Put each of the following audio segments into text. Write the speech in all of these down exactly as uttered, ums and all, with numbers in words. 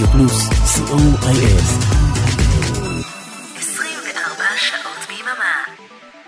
רדיו פלוס, סי או איי אס. עשרים וארבע שעות ביממה.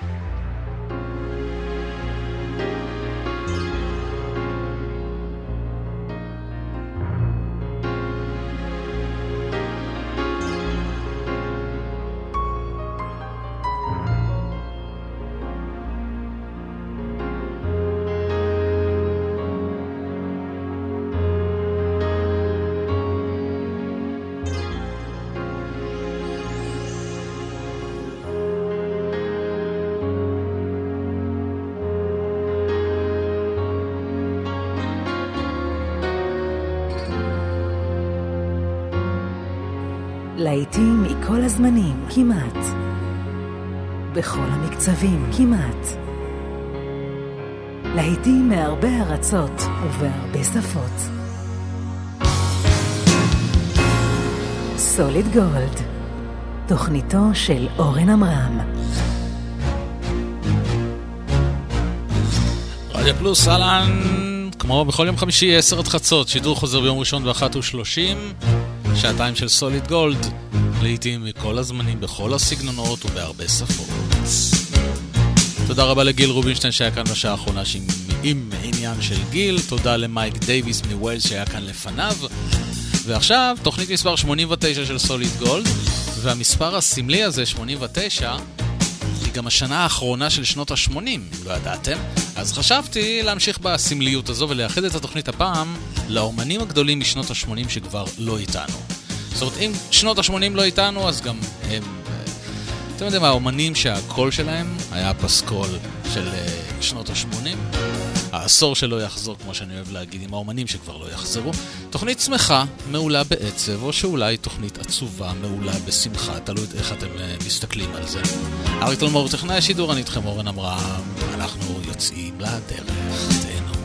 להיטים מכל הזמנים, כמעט. בכל המקצבים, כמעט. להיטים מהרבה ארצות ובהרבה שפות. סוליד גולד, תוכניתו של אורן אמרם. רדיו פלוס, אהלן, כמו בכל יום חמישי, עשר עד חצות, שידור חוזר ביום ראשון באחת ושלושים. שעתיים של סוליד גולד, לעתים מכל הזמנים, בכל הסגנונות ובהרבה שפות. תודה רבה לגיל רובינשטיין שהיה כאן בשעה האחרונה עם עניין של גיל. תודה למייק דייביס מווילס שהיה כאן לפניו. ועכשיו תוכנית מספר שמונים ותשע של סוליד גולד, והמספר הסמלי הזה, שמונים ותשע, היא גם השנה האחרונה של שנות ה-שמונים, לא ידעתם? אז חשבתי להמשיך בסמליות הזו ולייחד את התוכנית הפעם לאומנים הגדולים משנות ה-שמונים שכבר לא איתנו. זאת אומרת, אם שנות ה-שמונים לא איתנו, אז גם הם, אתם יודעים, האומנים שהקול שלהם היה פסקול של שנות ה-שמונים, העשור שלא יחזור, כמו שאני אוהב להגיד, עם האומנים שכבר לא יחזרו. תוכנית שמחה, מעולה בעצב, או שאולי תוכנית עצובה, מעולה בשמחה, תלוי איך אתם מסתכלים על זה. אריק תלמור, טכנאי השידור, אני איתכם אורן אמרם, אנחנו יוצאים לדרך, תהנו.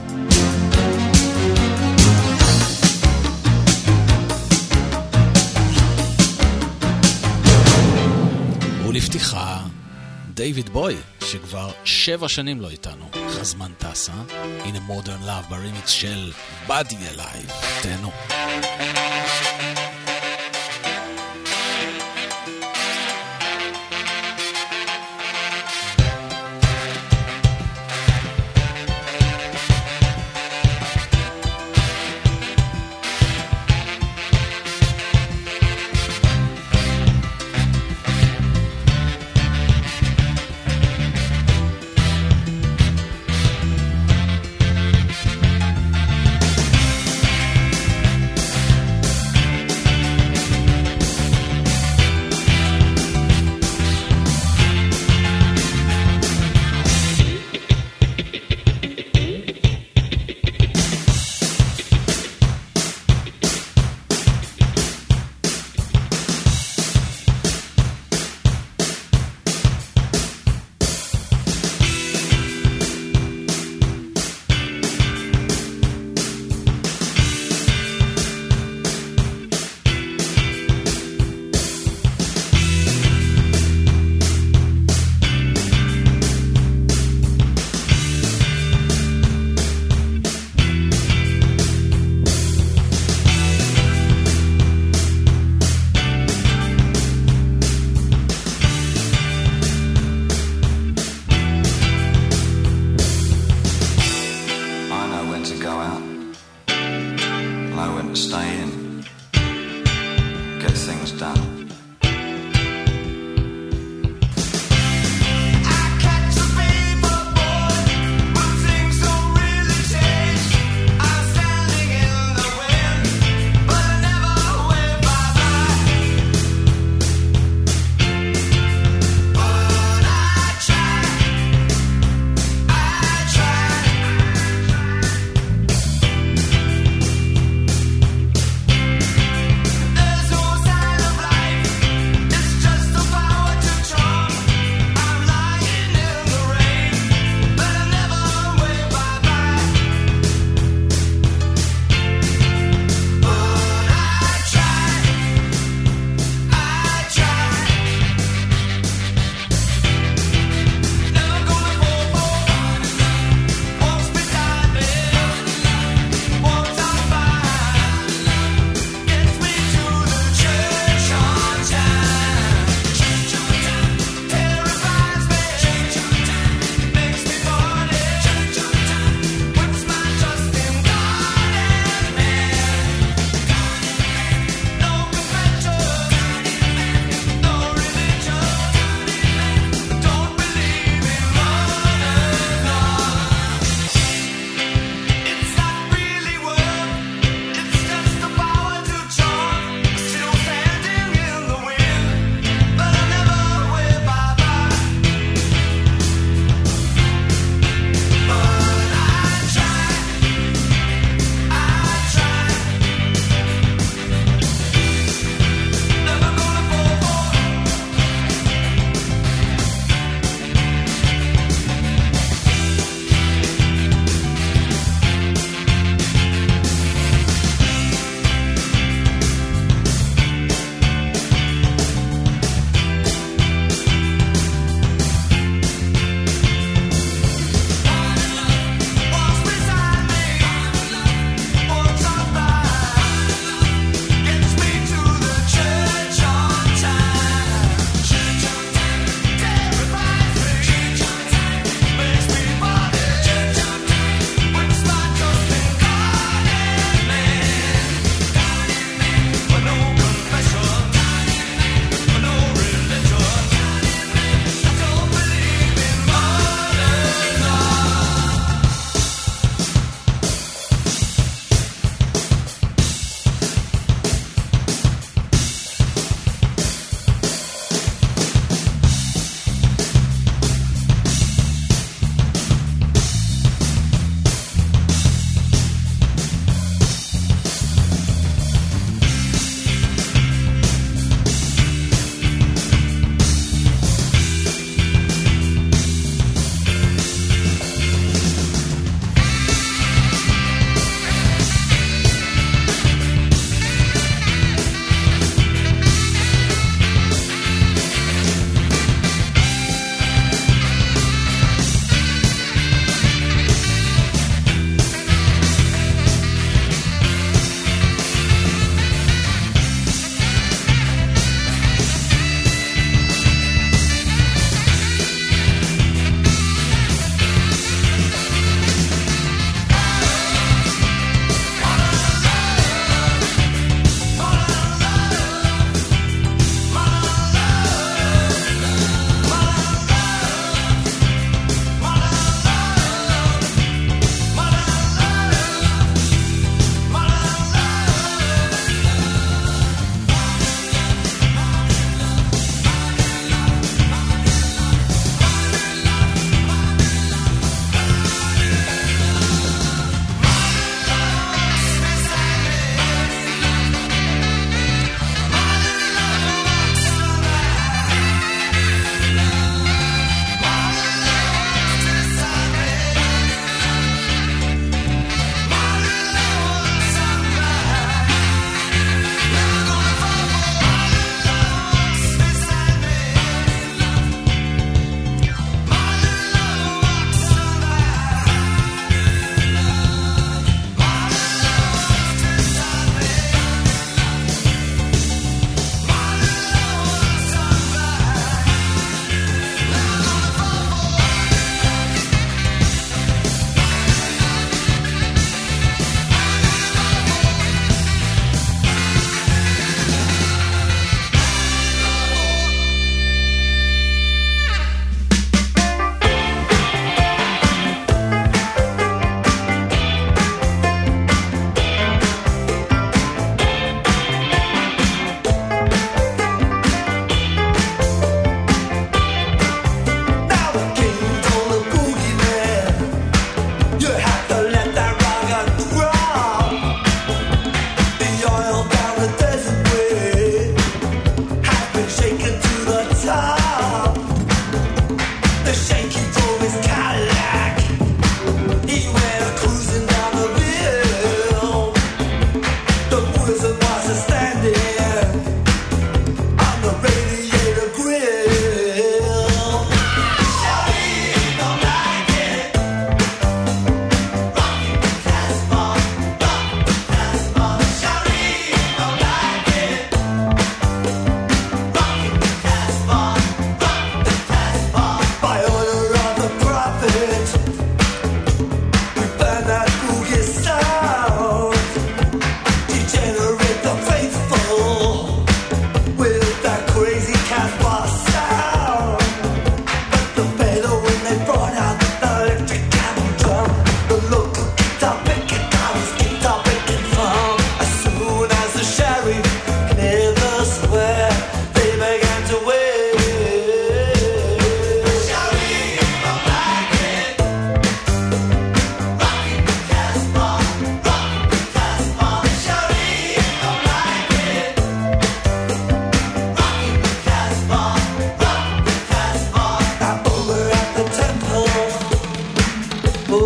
ולפתיחה, דיוויד בוי, שכבר שבע שנים לא איתנו, חזמן טסה, הנה מודרן לאב ברימיקס של Body Alive, תהנו.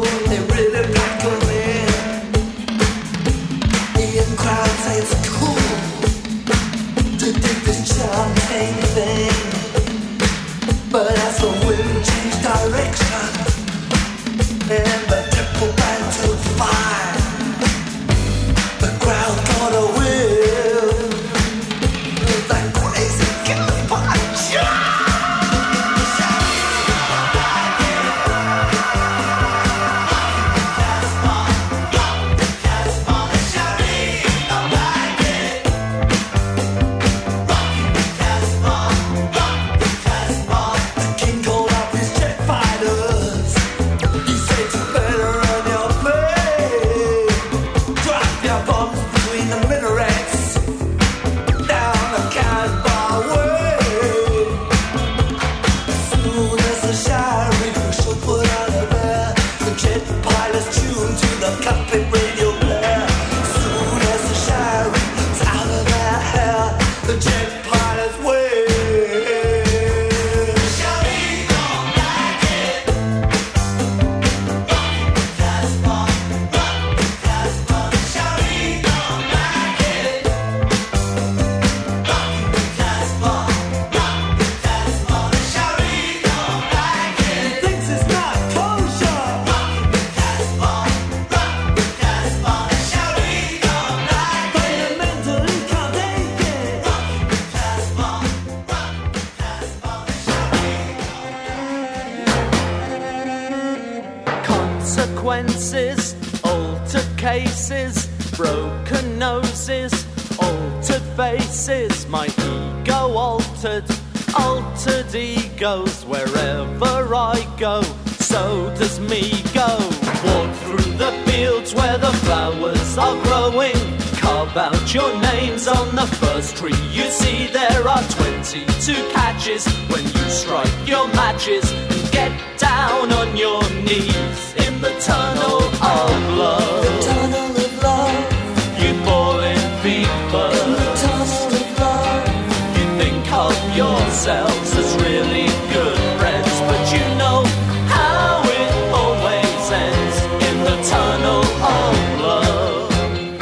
consequences, altered cases, broken noses, altered faces, my ego altered, altered egos, wherever I go, so does me go. Walk through the fields where the flowers are growing, carve out your names on the first tree you see. There are twenty-two catches when you strike your matches and get down on your knees in the tunnel of love. The tunnel of love. You fall in fever. In the tunnel of love. You think of yourselves as really good friends, but you know how it always ends in the tunnel of love.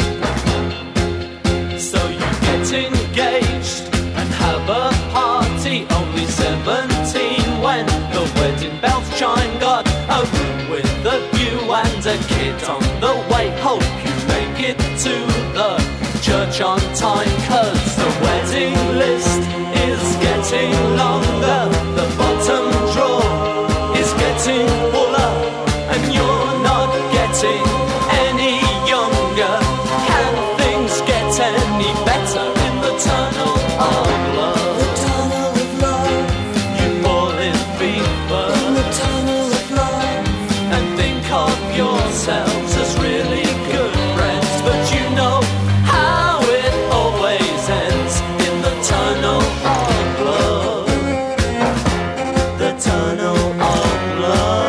So you get engaged and have a party, only seventeen when the wedding bells chime. Got a room with a view and a kid on the way. Hope you make it to the church on time, 'cause the wedding list is getting longer, the bottom drawer is getting fuller, and you're not getting any younger. Can things get any better in the tunnel of love? The tunnel of love. You fall in fever. In the tunnel of love. And think of yourselves as really good friends, but you know how it always ends in the tunnel of love. The tunnel of love.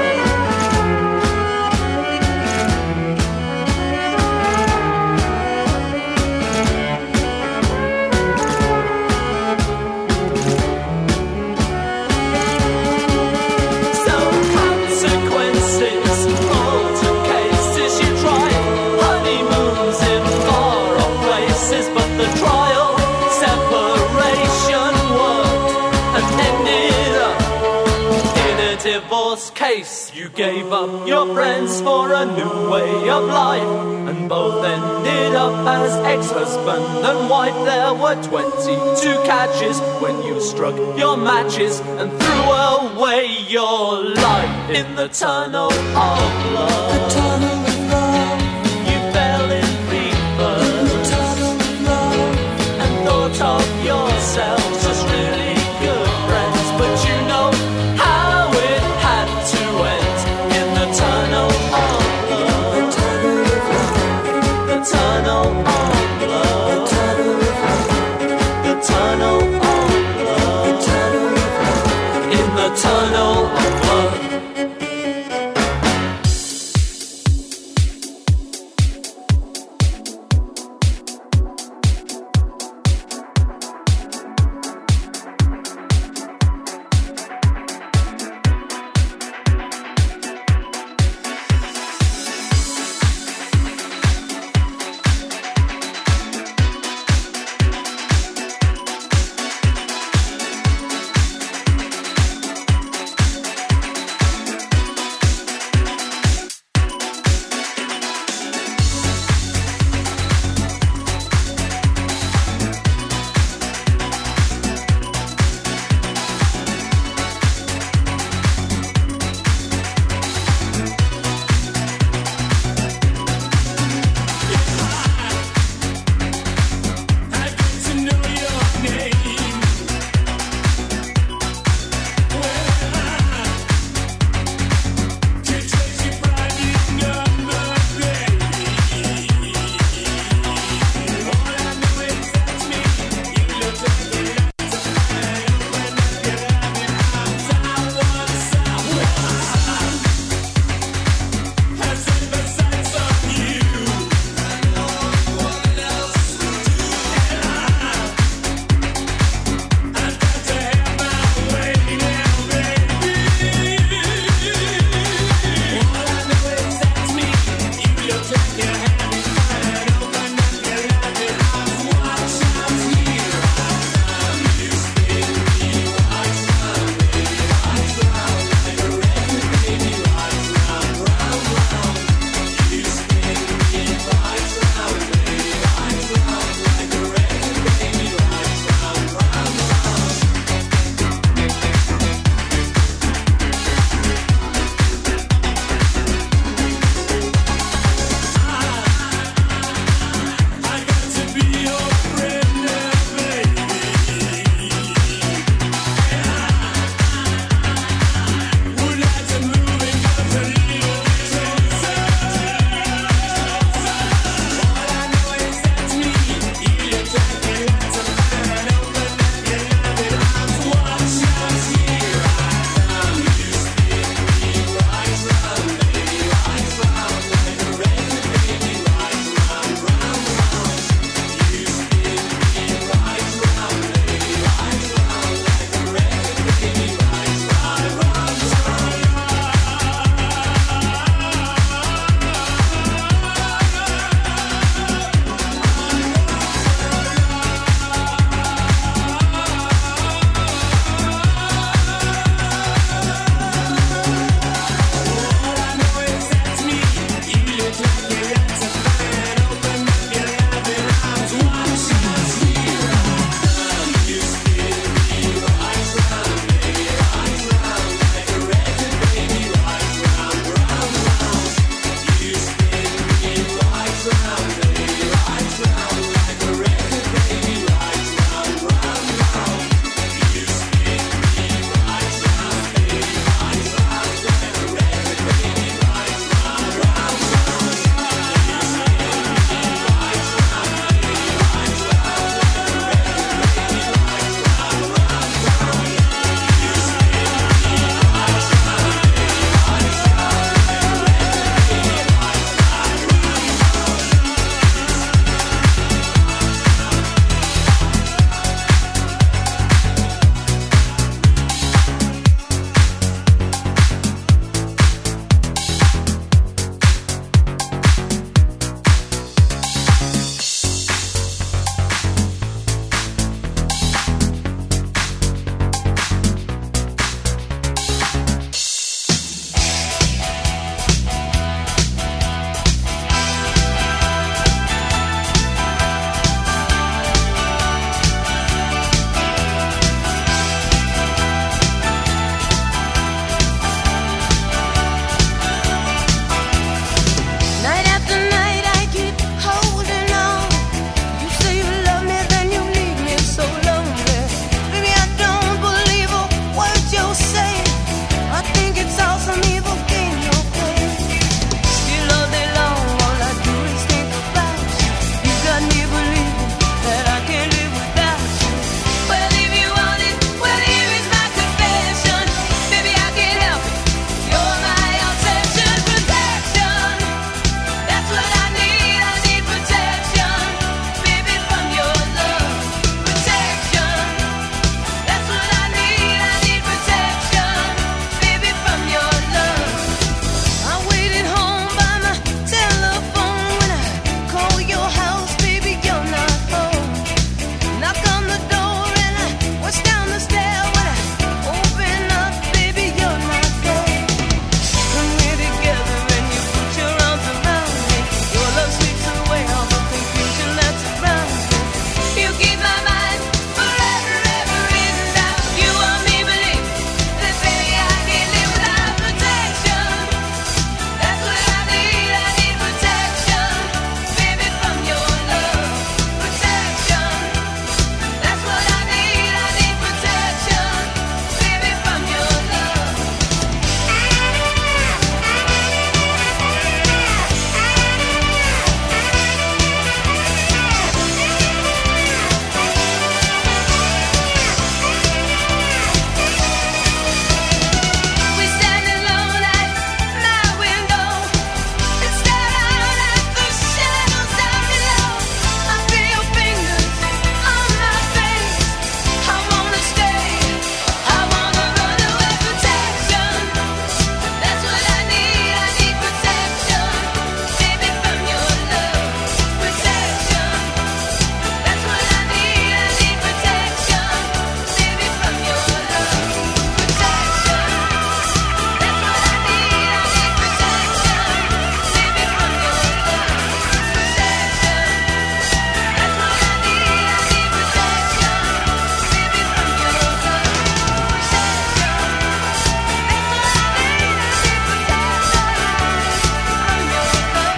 So consequences, altered cases, you try honeymoons in far-off places, but the trial separation worked and ended up in a divorce case. You gave up your friends for a new way of life, and both ended up as ex-husband and wife. There were twenty-two catches when you struck your matches and threw away your life in the tunnel of love. The tunnel of love. You fell in fever In the tunnel of love. and thought of yourselves as really good friends, but you know how it had to end in the tunnel of love. The tunnel of love. The tunnel of The love. tunnel of love. The tunnel of love. The tunnel of love. In the tunnel of love.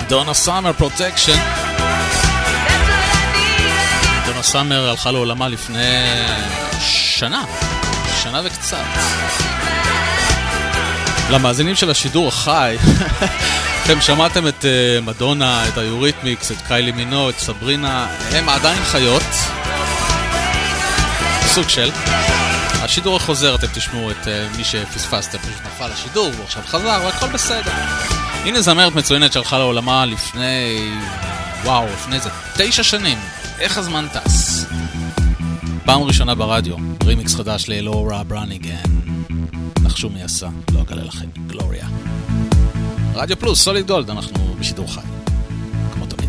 דונה סאמר, פרוטקשן. דונה סאמר הלכה לעולמה לפני שנה, שנה וקצת. למאזינים של השידור החי, אתם שמעתם את uh, מדונה, את היוריתמיקס, את קיילי מינו, את סברינה, הם עדיין חיות. סוג של. השידור החוזר, אתם תשמעו את uh, מי שפספסתם, פשוט נפל השידור, והוא עכשיו חזר, והכל בסדר. הנה זמרת מצוינת שהלכה לעולמה לפני, וואו, לפני זה תשע שנים. איך הזמן טס? פעם ראשונה ברדיו, רימיקס חדש לאלורה בראניגן. נחשו מי עשה, לא אגלה לכם, גלוריה. רדיו פלוס, סוליד גולד, אנחנו בשידור חי, כמו תמיד.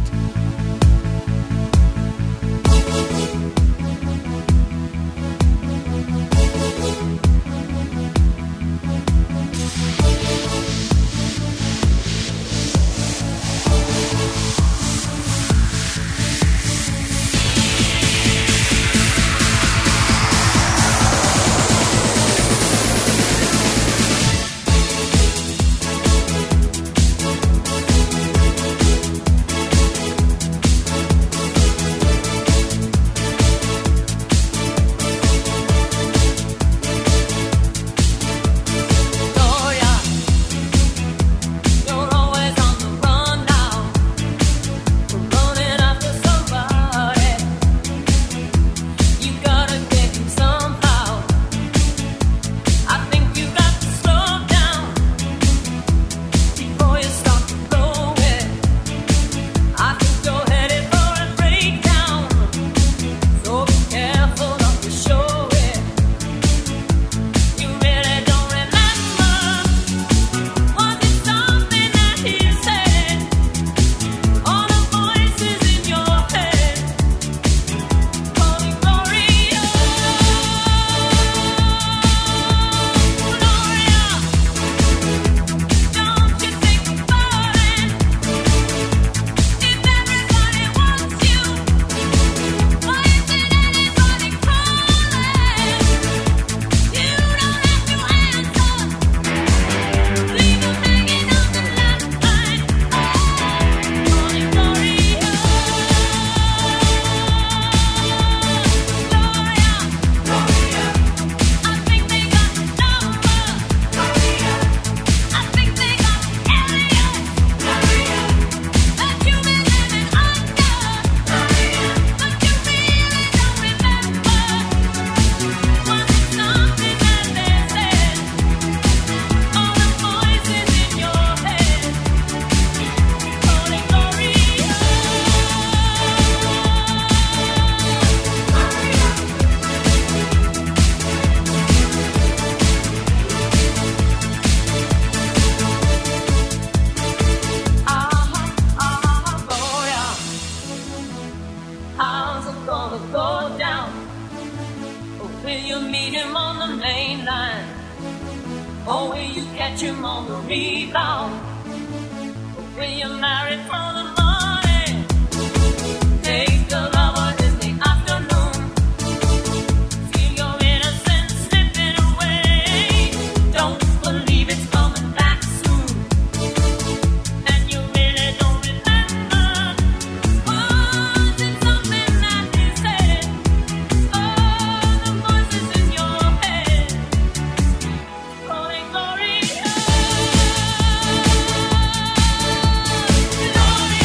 Gloria.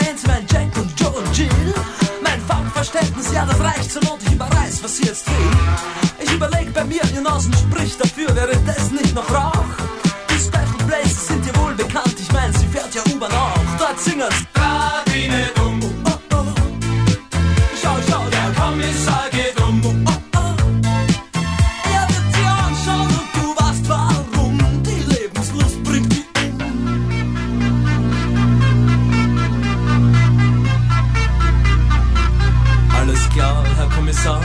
Bands, mein Jack und Joe und Jill. Mein Farbverständnis, ja, das reicht zur Not, ich überreiß, was sie jetzt will. Ich überleg bei mir, ihr Nasen spricht dafür, wäre das nicht noch Rauch? Die Special Places sind dir wohl bekannt, ich mein, sie fährt ja U-Bahn auch. Dort singen's Radine dumm, oh, oh, oh. Schau, schau, der Kommissar geht um, oh, oh, oh. Er wird sie anschauen und du weißt warum, die Lebenslust bringt die um. Alles klar, Herr Kommissar.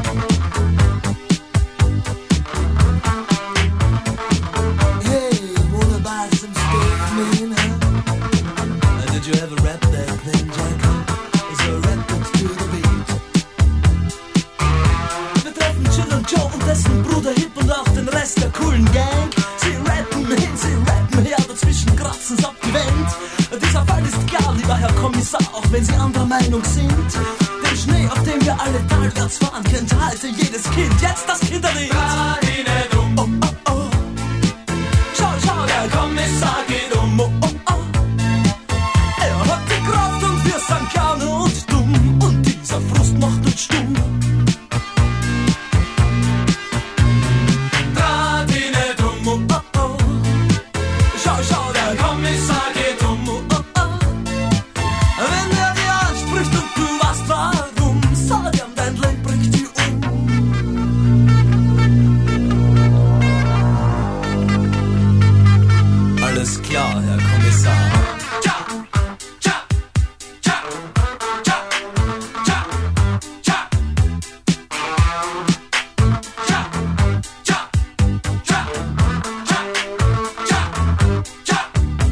Hey, wanna buy some steak, man, huh? Uh, did you ever rap that thing, Jack? Is a rap that's to the beat. Wir treffen Jill und Joe und dessen Bruder Hip und auch den Rest der coolen Gang. Sie rappen hin, sie rappen her, dazwischen kratzen's ab die Wand. Dieser Fall ist klar, lieber Herr Kommissar, auch wenn Sie anderer Meinung sind. Den Schnee, auf dem wir alle talwärts fahren, kennt heute jedes Kind. Jetzt das Kinderlied. Oh, oh, oh. Schau, schau, der Kommissar geht um. Oh, oh, oh. Er hat die Kraft und wir sind gerne und dumm. Und dieser Frust macht uns stumm. Radine dumm. Oh, oh, oh. Schau, schau, der Kommissar geht um. Oh, oh, oh. Wenn er dir anspricht und du weißt warum, sag ihm, dein Leben bringt die um. Alles klar, Herr Kommissar. Tja, tja, tja, tja, tja, tja. Tja, tja, tja, tja, tja, tja.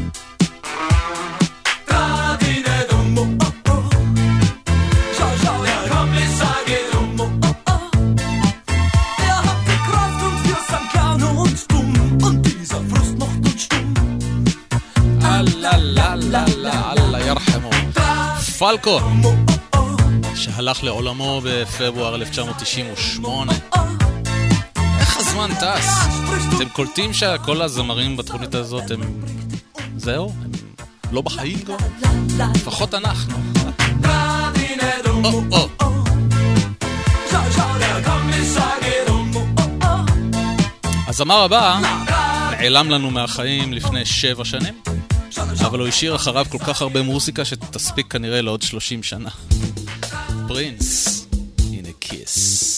Radine dumm, oh, oh, oh. Schau, schau, der Kommissar geht um, oh, oh, oh. Er hat die Kraft und wir sind gerne und dumm. Und dieser Frust macht uns stumm. אללה, לה, לה, לה, אללה ירחמו. פלקו, שהלך לעולמו בפברואר אלף תשע מאות תשעים ושמונה. איך הזמן טס? אתם קולטים שכל הזמרים בתוכנית הזאת הם... זהו? הם לא בחיים כבר? לפחות אנחנו. או, או. הזמר הבא נעלם לנו מהחיים לפני שבע שנים, אבל הוא השאיר אחריו כל כך הרבה מוזיקה שתספיק כנראה לעוד שלושים שנה. פרינס, הנה כיס.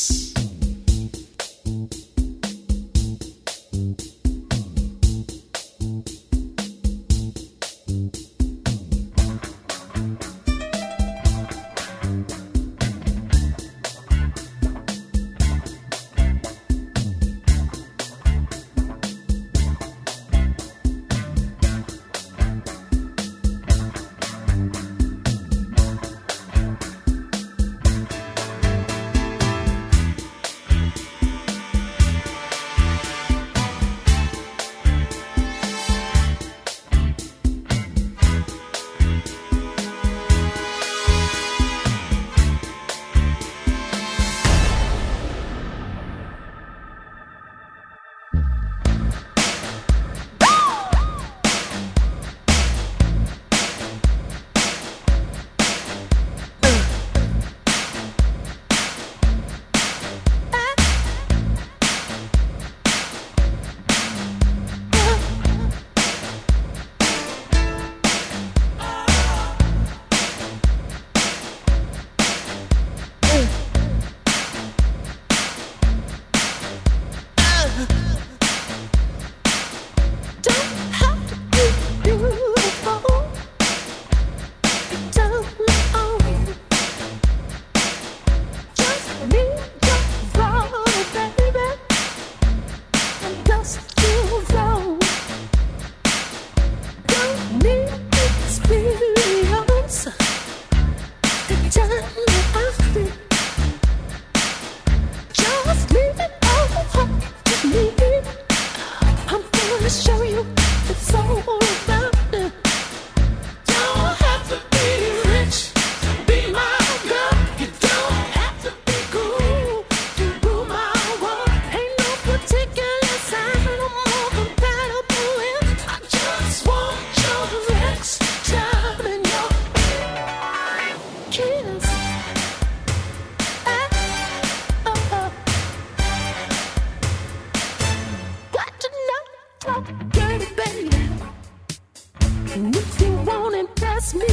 me.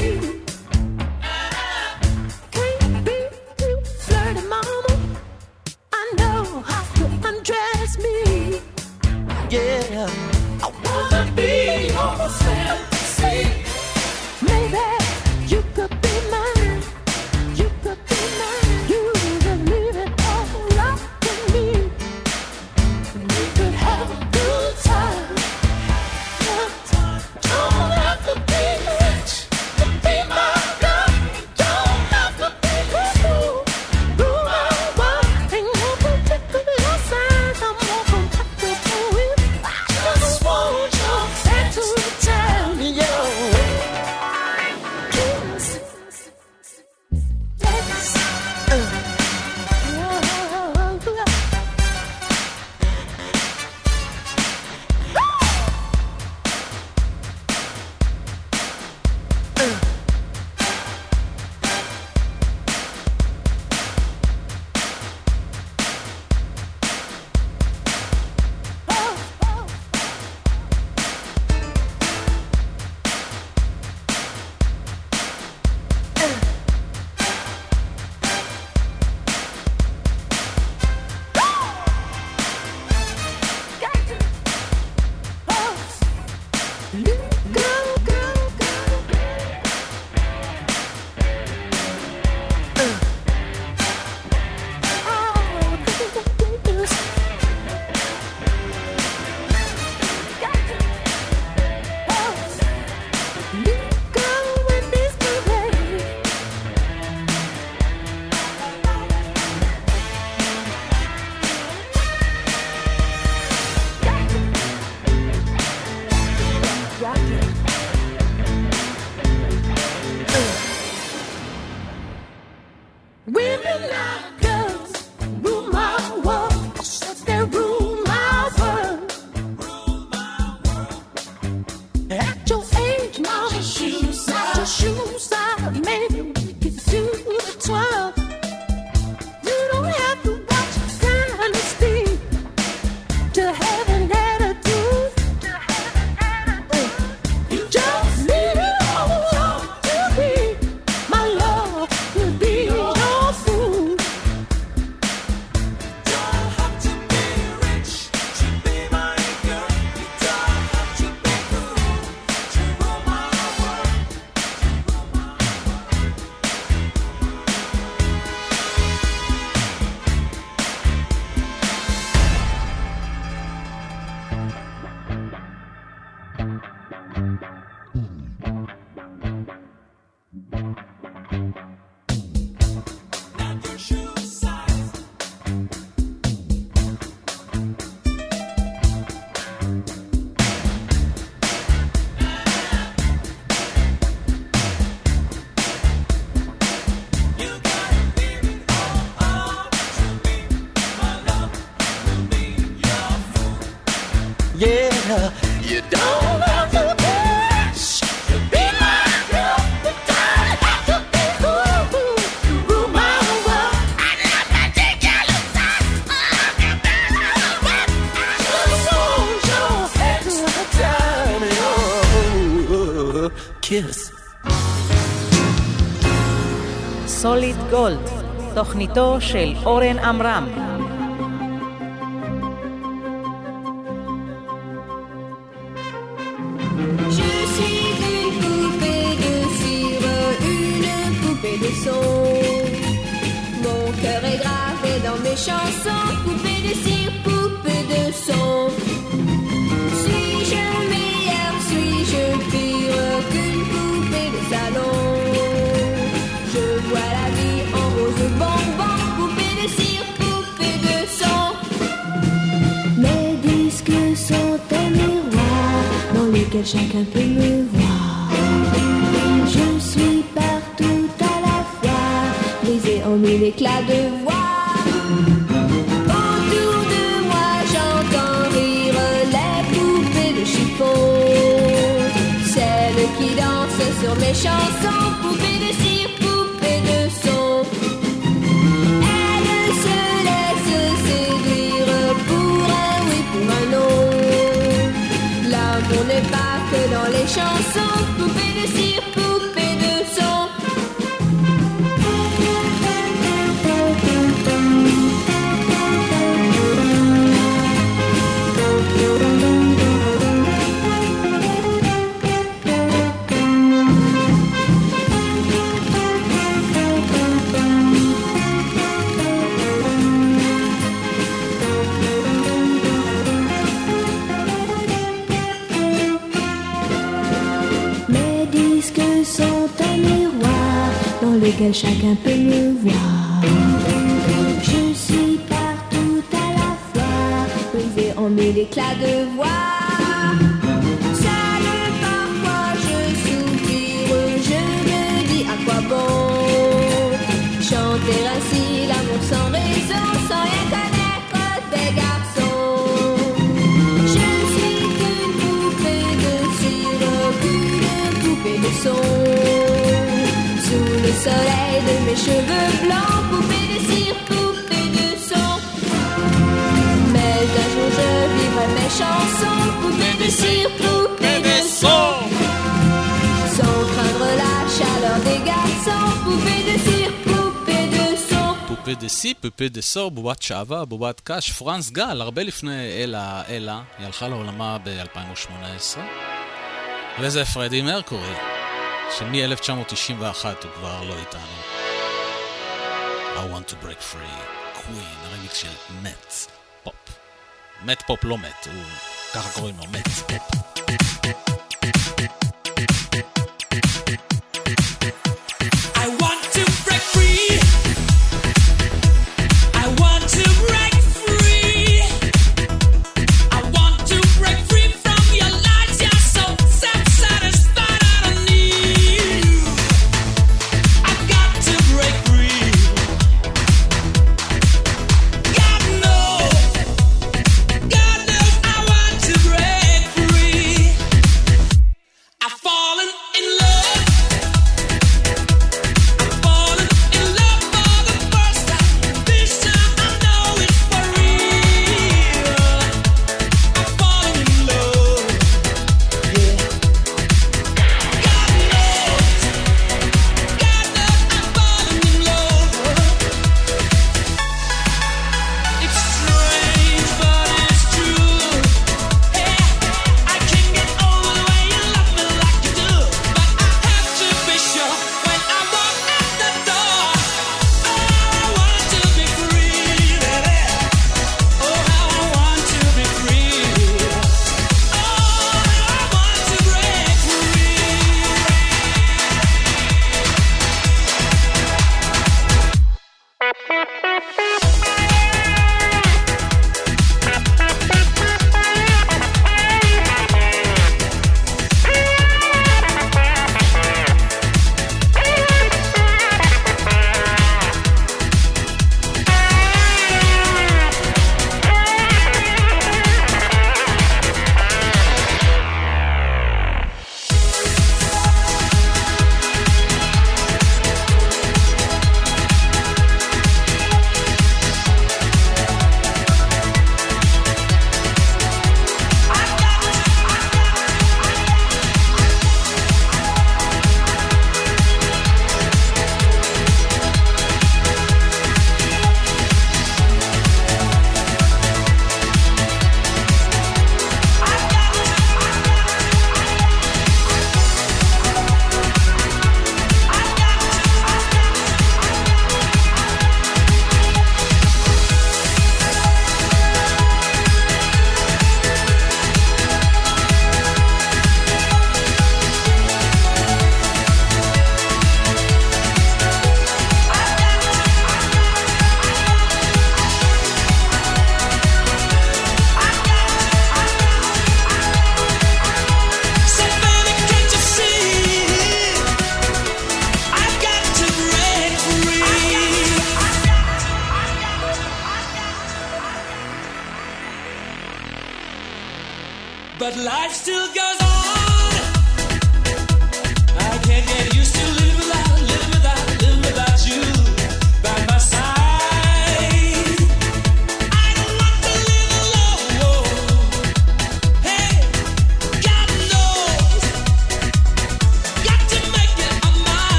Can't be too flirty, mama. I know how to undress me. Yeah, I wanna be your fantasy. Maybe you could be mine. You could be mine. You could leave it all up to me. We could have a good time. Don't have to be rich to be my girl. Don't have to be cool. Do my work. Ain't no particular sign. I'm more compatible with. I just want your head to tell me your kiss. Let's uh. Women like girls rule my world. Yes, they rule my world. At your age, mama, shoes out, your shoes out. Maybe we could do the twirl. You don't have to watch kind of speed to have an attitude. You just need it all to be my love. Will be your food. Don't have to be rich to be my girl. You don't have to be cool to rule my world. Not your shoe size. You gotta leave it all up to me. My love will be your food. Yeah, you don't have to be rich to be my girl. You don't have to be cool to rule my world. I love my ridiculous size. Just want your head to tell me your kiss. סוליד גולד, תוכניתו של אורן עמרם. Je suis une poupée de cire, une poupée de son. Mon cœur est gravé dans mes chansons, poupée de cire, poupée de son. Suis-je meilleure, suis-je pire qu'une poupée de salon? Je vois la vie en rose bonbon, poupée de cire, poupée de son. Mes disques sont un miroir dans lequel chacun peut me voir. Je suis partout à la fois, brisée en mille éclats de voix. Autour de moi j'entends rire les poupées de chiffon, celles qui dansent sur mes chansons, poupées de cire, poupées de son. Elles se laissent séduire pour un oui, pour un non. L'amour n'est pas que dans les chansons, poupées de cire, poupées sont un miroir dans lequel chacun peut me voir. Je suis partout à la fois, brisé en mille éclats de voix. Seul parfois je soupire, je me dis à quoi bon chanter ainsi l'amour sans raison, sans rien connaître des garçons. Je suis qu'une poupée de cire, qu'une poupée de son. Sous le soleil de mes cheveux blancs, poupée de cire, poupée de son. Mais un jour je vivrai mes chansons, poupée de cire, poupée de son. Sans craindre la chaleur des garçons, poupée de cire, poupée de son. פופה דה סי, פופה דה סור, בובת שעבה, בובת קש, פרנס גל, הרבה לפני אלה, אלה, היא הלכה לעולמה ב-אלפיים ושמונה עשרה. וזה פרדי מרקורי, שמ-אלף תשע מאות תשעים ואחת הוא כבר לא איתנו. I want to break free, קווין, הרמיקס של מט פופ. מט פופ לא מט, הוא ככה קוראים לו, מט פופ. I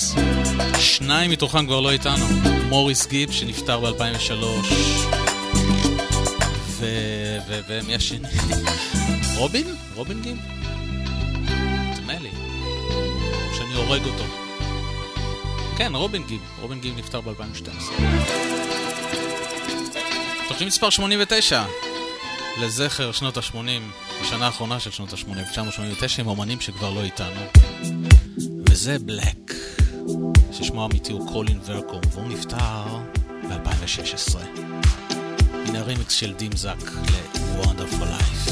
שניים מתוכם כבר לא איתנו. מוריס גיב שנפטר ב-אלפיים ושלוש, ו... ו... ומי השני? רובין? רובין גיב? נדמה לי שאני הורג אותו. כן, רובין גיב. רובין גיב נפטר ב-אלפיים ושתים עשרה. תוכנית מספר שמונים ותשע לזכר שנות ה-שמונים, השנה האחרונה של שנות ה-שמונים, תשע מאות שמונים ותשע, עם אומנים שכבר לא איתנו, וזה בלק, ששמו האמיתי הוא קולין ורקום, והוא נפטר ב-אלפיים ושש עשרה. הנה הרימיקס של דים זק ל-Wonderful Life.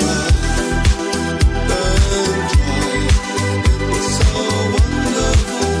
Wonderful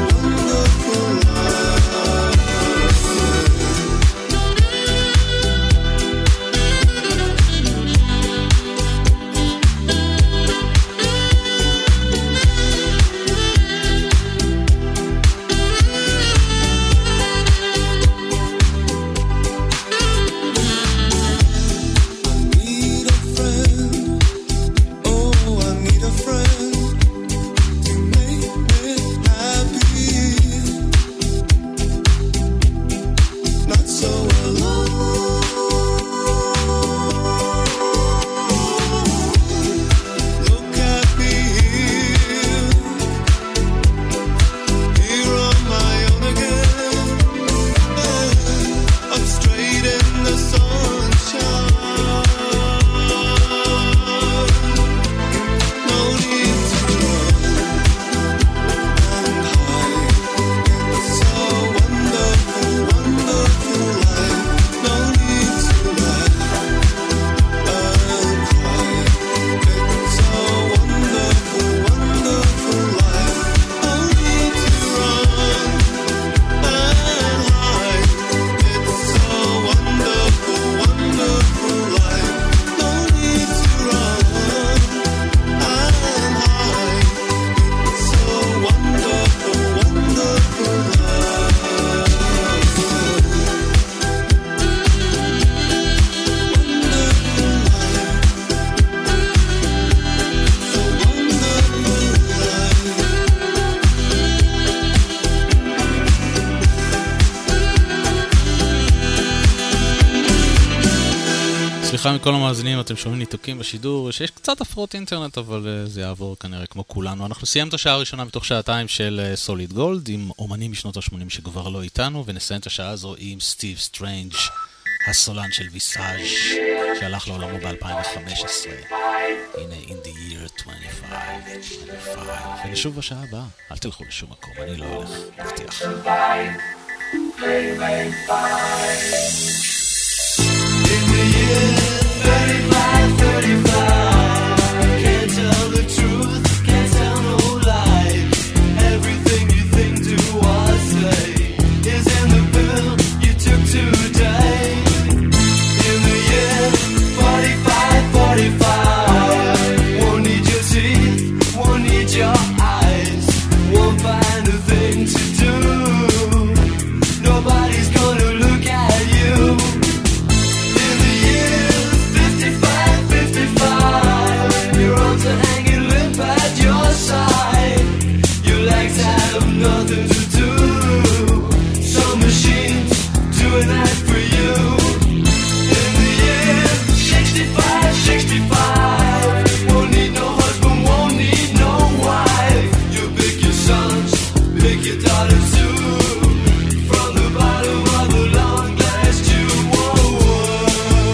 סליחה מכל המאזינים, אתם שומעים ניתוקים בשידור, שיש קצת הפרעות אינטרנט, אבל uh, זה יעבור כנראה כמו כולנו. אנחנו סיימת את השעה הראשונה מתוך שעתיים של סוליד uh, גולד, עם אומנים משנות ה-שמונים שכבר לא איתנו, ונסיים את השעה הזו עם סטיב סטרנג', הסולן של ויסאז' שהלך לעולמו ב-אלפיים וחמש עשרה. הנה, in the year twenty-five, twenty-five. ונשוב בשעה הבאה, אל תלכו לשום מקום, אני לא הולך, מבטיח. In the year thirty-five, thirty-five, can't tell the truth, can't tell no lies. Everything you think, do or say is in the pill you took today. In the year forty-five, forty-five, won't need your teeth, won't need your eyes, won't find a thing to do. Nobody's gonna look at you. Your arms are hanging limp at your side. Your legs have nothing to do. Some machines doing that for you. In the year sixty-five, sixty-five, won't need no husband, won't need no wife. You pick your sons, pick your daughters too. From the bottom of the long glass tube. Whoa, whoa.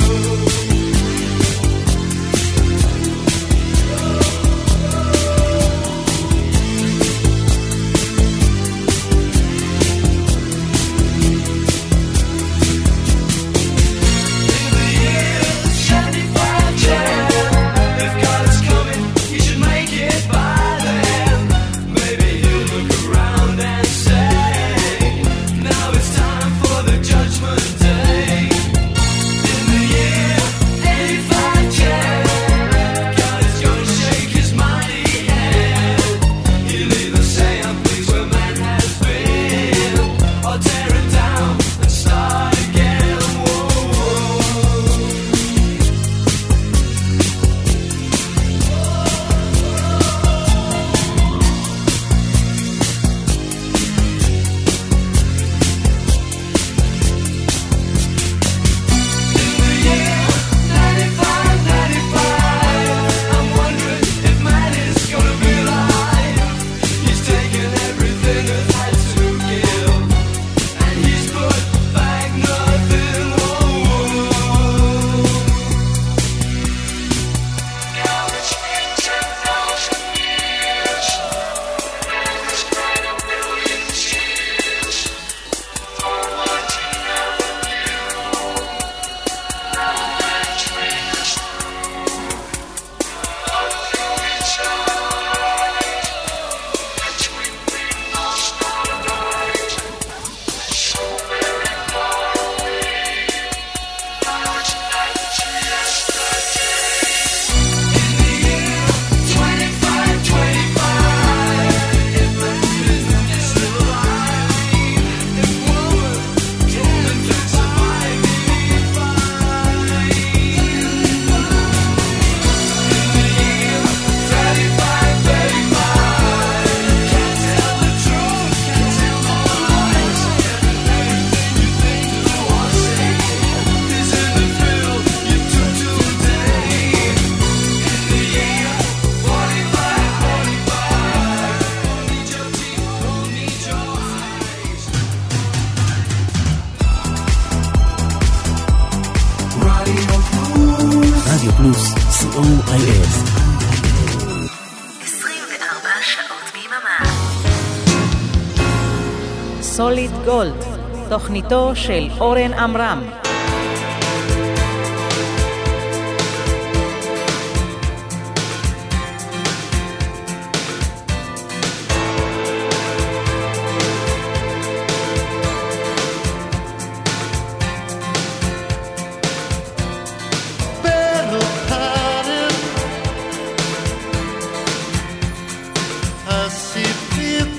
רדיו פלוס, סי או איי אס. עשרים וארבע שעות ביממה. סוליד גולד, תוכניתו של אורן עמרם.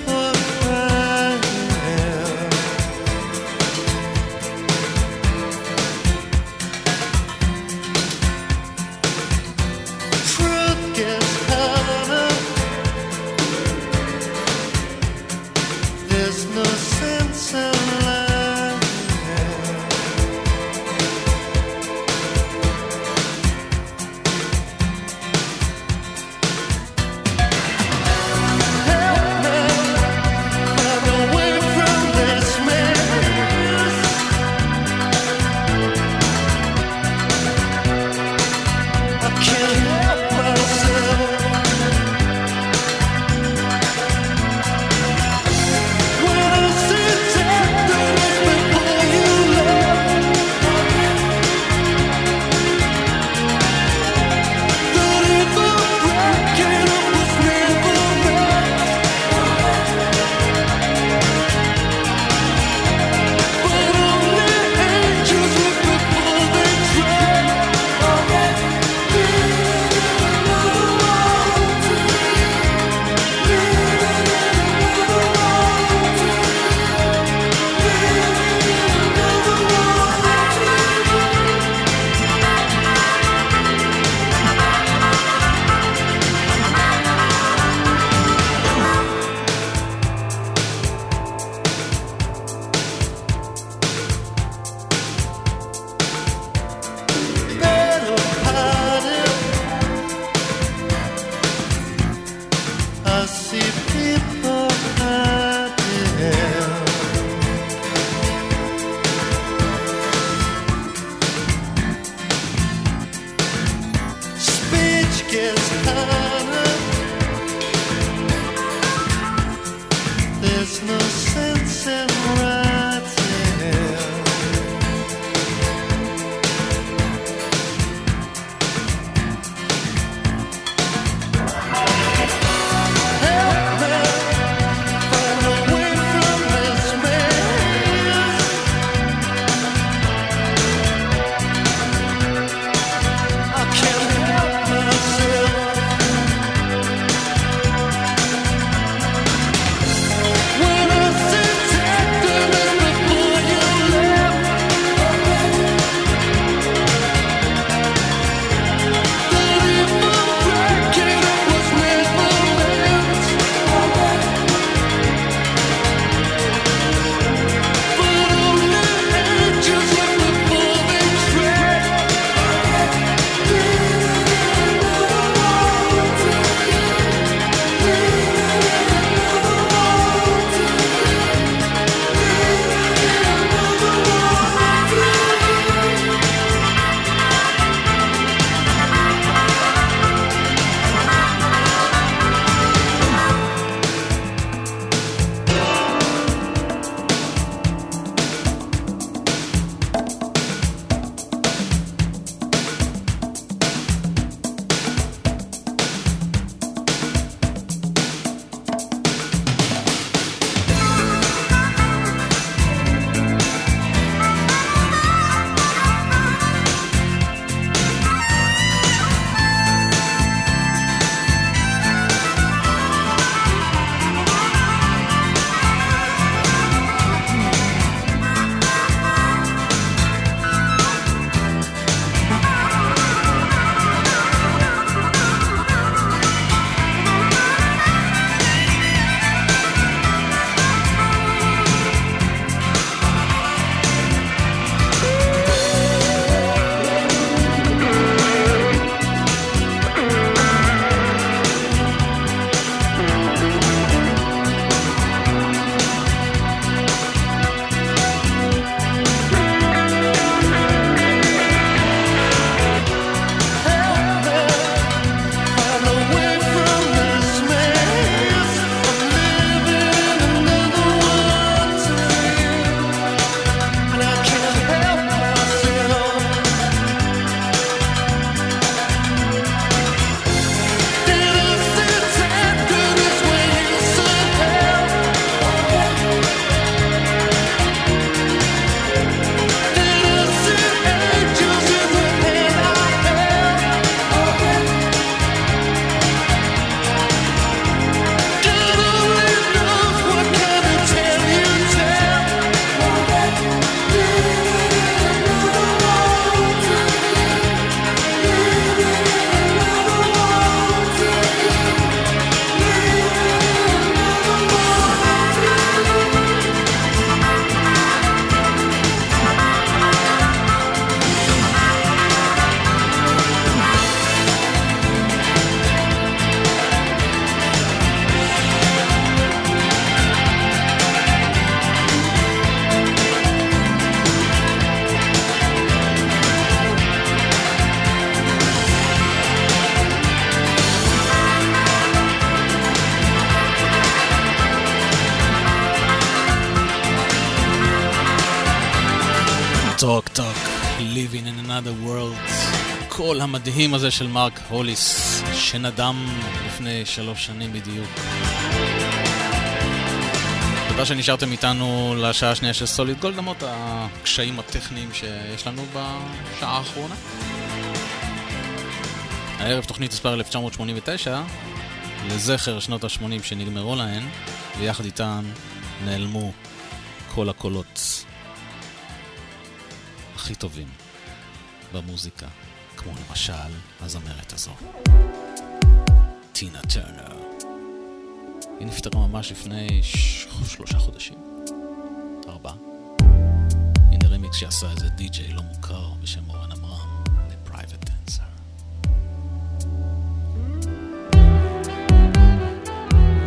I see people crying. see people hiding. Speech gets harder. There's no sense in writing. טוק טוק, Living in another world, כל המדהים הזה של מרק הוליס, שנדם לפני שלוש שנים בדיוק. תודה שנשארתם איתנו לשעה השנייה של סוליד גולד, למרות הקשיים הטכניים שיש לנו בשעה האחרונה. הערב תוכנית מספר אלף תשע מאות שמונים ותשע, לזכר שנות ה-שמונים שנגמרו להן, ויחד איתן נעלמו כל הקולות הכי טובים במוזיקה, כמו למשל הזמרת הזו, טינה טרנר. היא נפטרה ממש לפני ש... שלושה חודשים, ארבע. הנה רמיקס שעשה איזה די-ג'יי לא מוכר בשם אורן אברהם, ל-Private Dancer.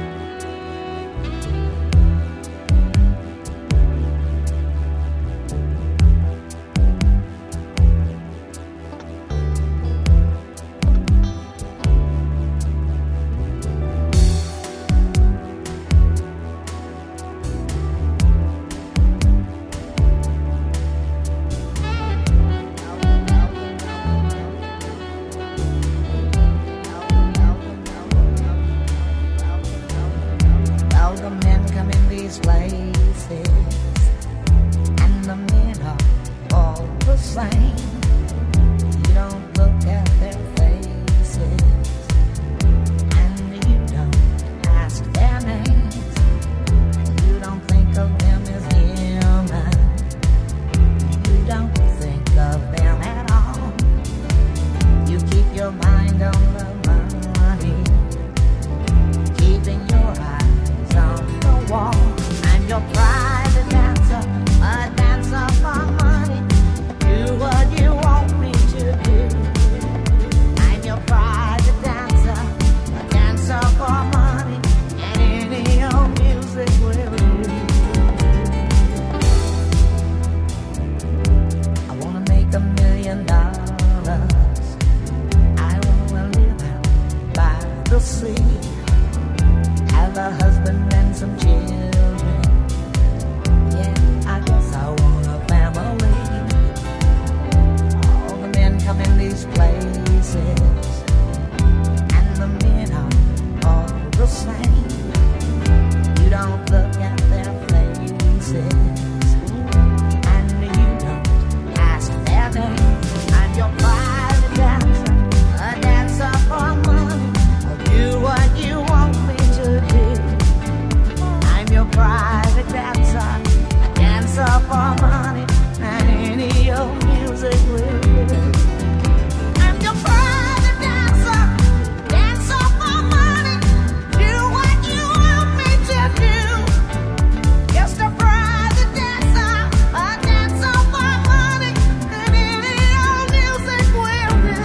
same. You don't look at their faces, and you don't ask their name. And your private dancer, a dancer for money. I'll do what you want me to do. I'm your private dancer, a dancer for money, and any old music will do. I'm your private dancer, dancer for money. Do what you want me to do. Just a private dancer, a dancer for money, and any old music will do.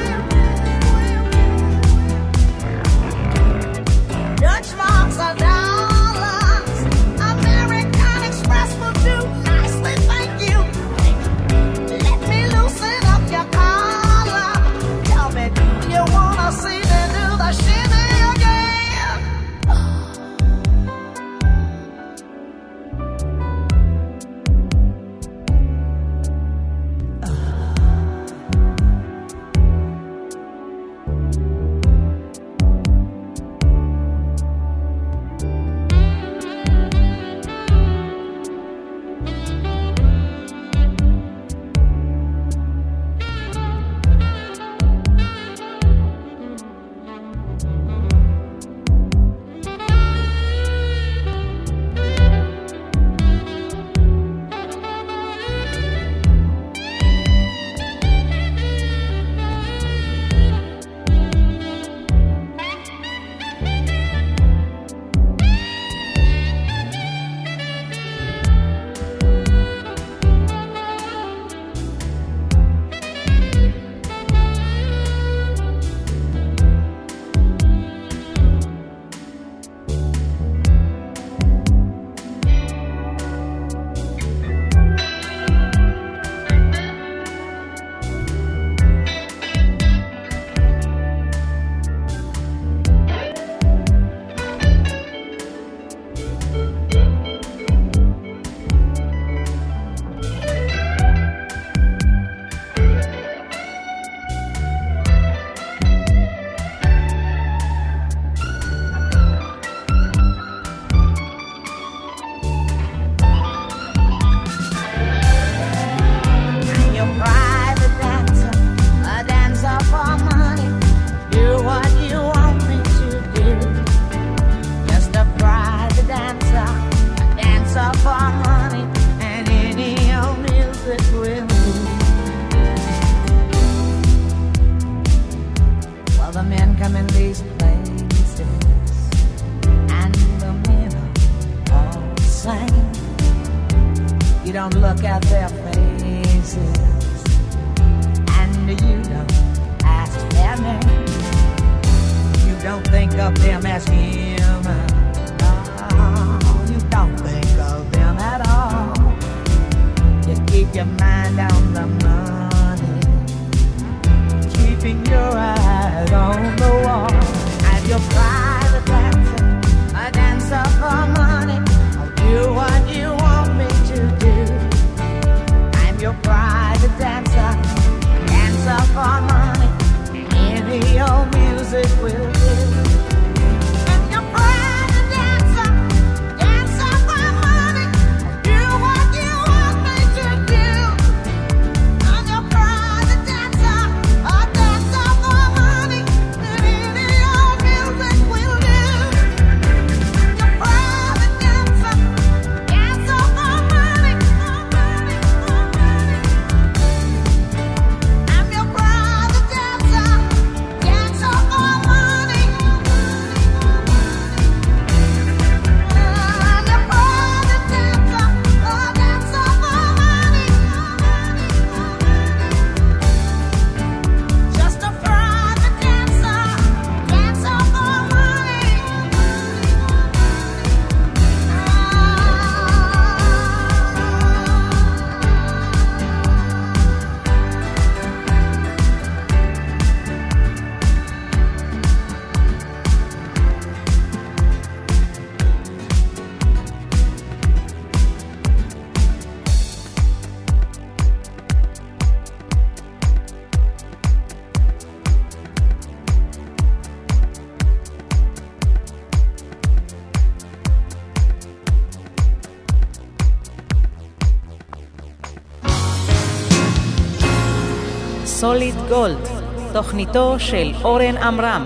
Dutch marks are dollars, American Express will do nicely, thank you. Let me loosen up your collar. Tell me, do you wanna see me do the shimmy again? I'm your private dancer, a dancer for money. Do what you want me to do. Just a private dancer, a dancer for money, and any old music will do. Well, the men come in these places, and the men are all the same. You don't look at their faces, and you don't ask their name. You don't think of them as human. No, you don't think of them at all. You keep your mind on the money, keeping your eyes on the wall. I'm your private dancer, a dancer for money. I'll do what you want me to do. I'm your private dancer, dancer for money. Any old music will do. I'm your private dancer, dancer for money. Do what you want me to do. I'm your private dancer, a dancer for money. And any old music will סוליד גולד, תוכניתו של אורן עמרם.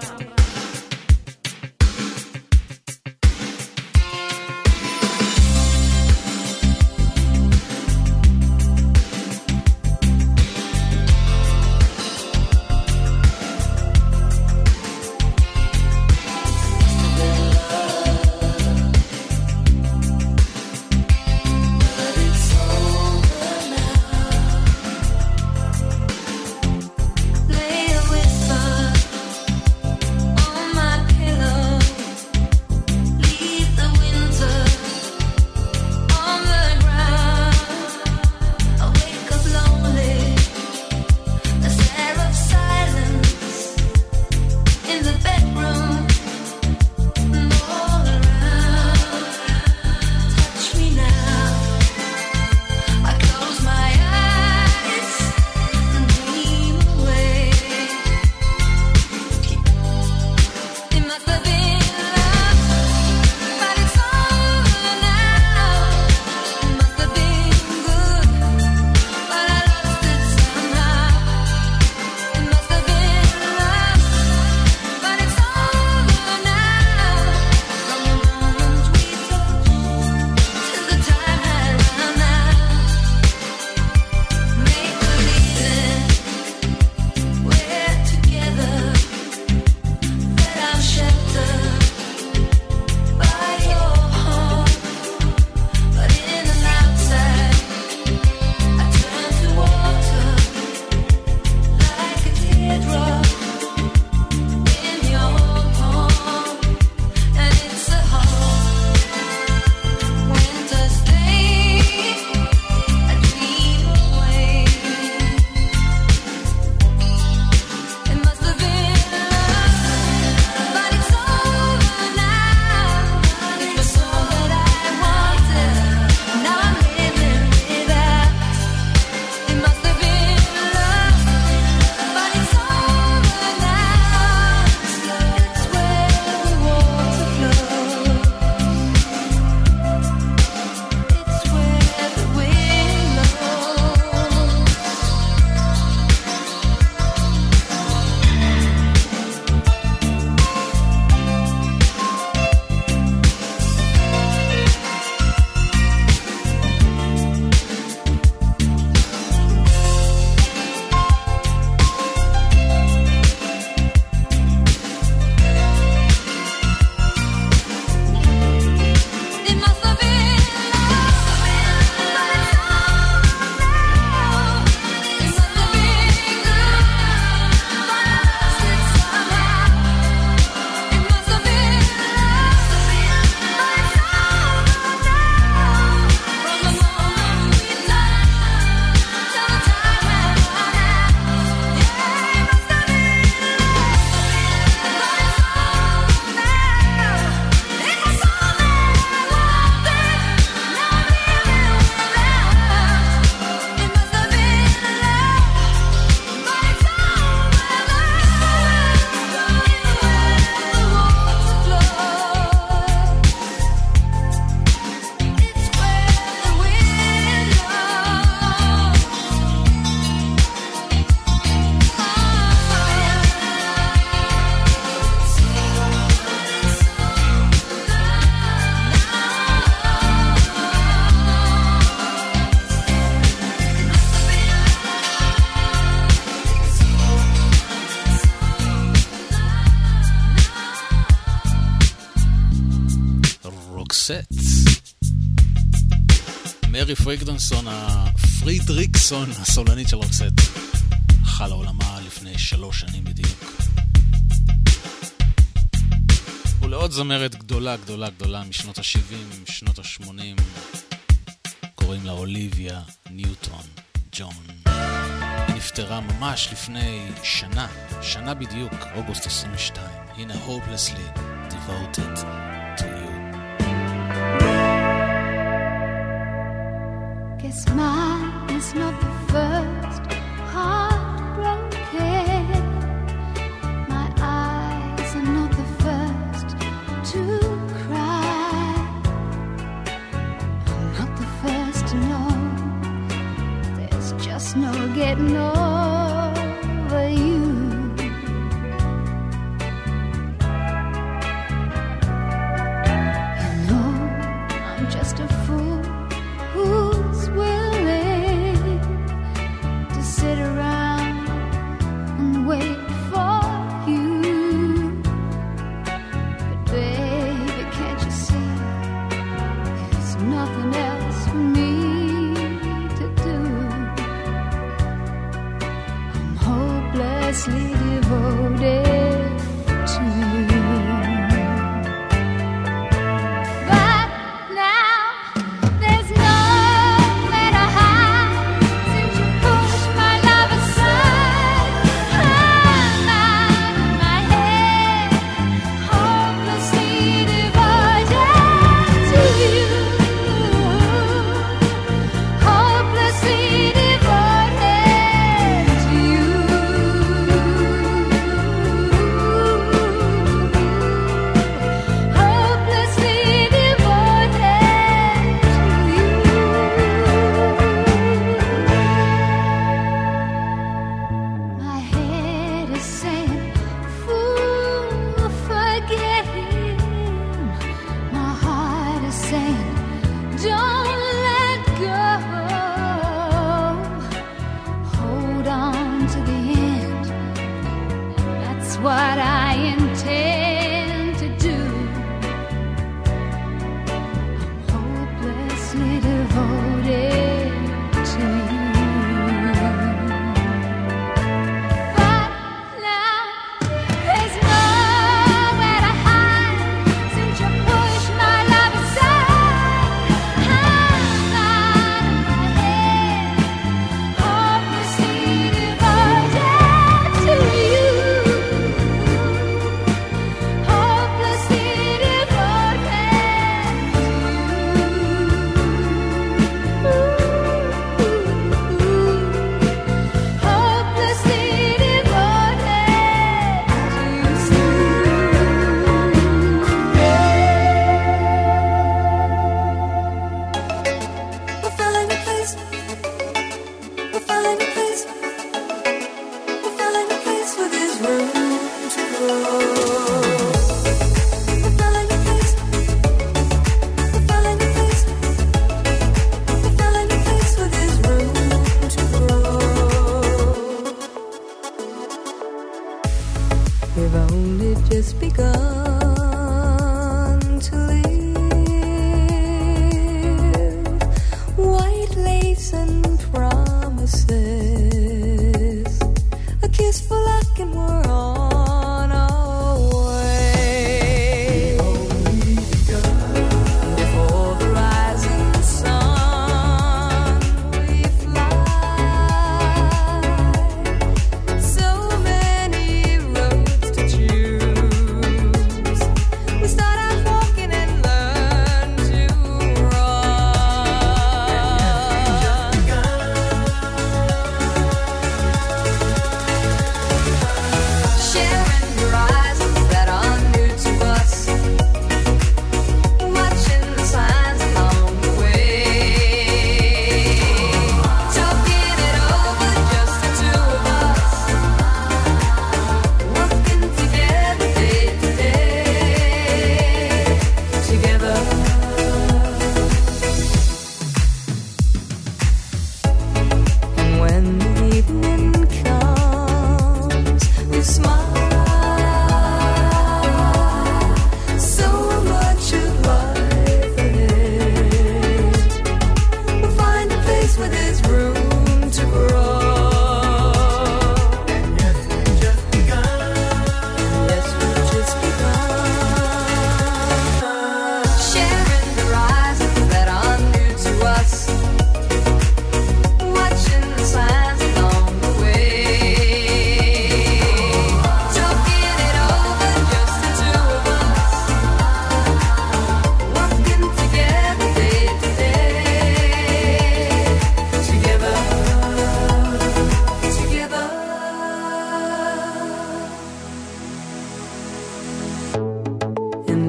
מרי פרידריקסון, הפרידריקסון, הסולנית של רוקסט, חלה עולמה לפני שלוש שנים בדיוק. ולעוד זמרת גדולה גדולה גדולה משנות ה-שבעים, שנות ה-שמונים, קוראים לה אוליביה ניוטון ג'ון. היא נפטרה ממש לפני שנה, שנה בדיוק, אוגוסט עשרים ושתיים. הנה Hopelessly Devoted to You. Guess mine is not the first heartbroken. My eyes are not the first to cry. I'm not the first to know. There's just no getting over.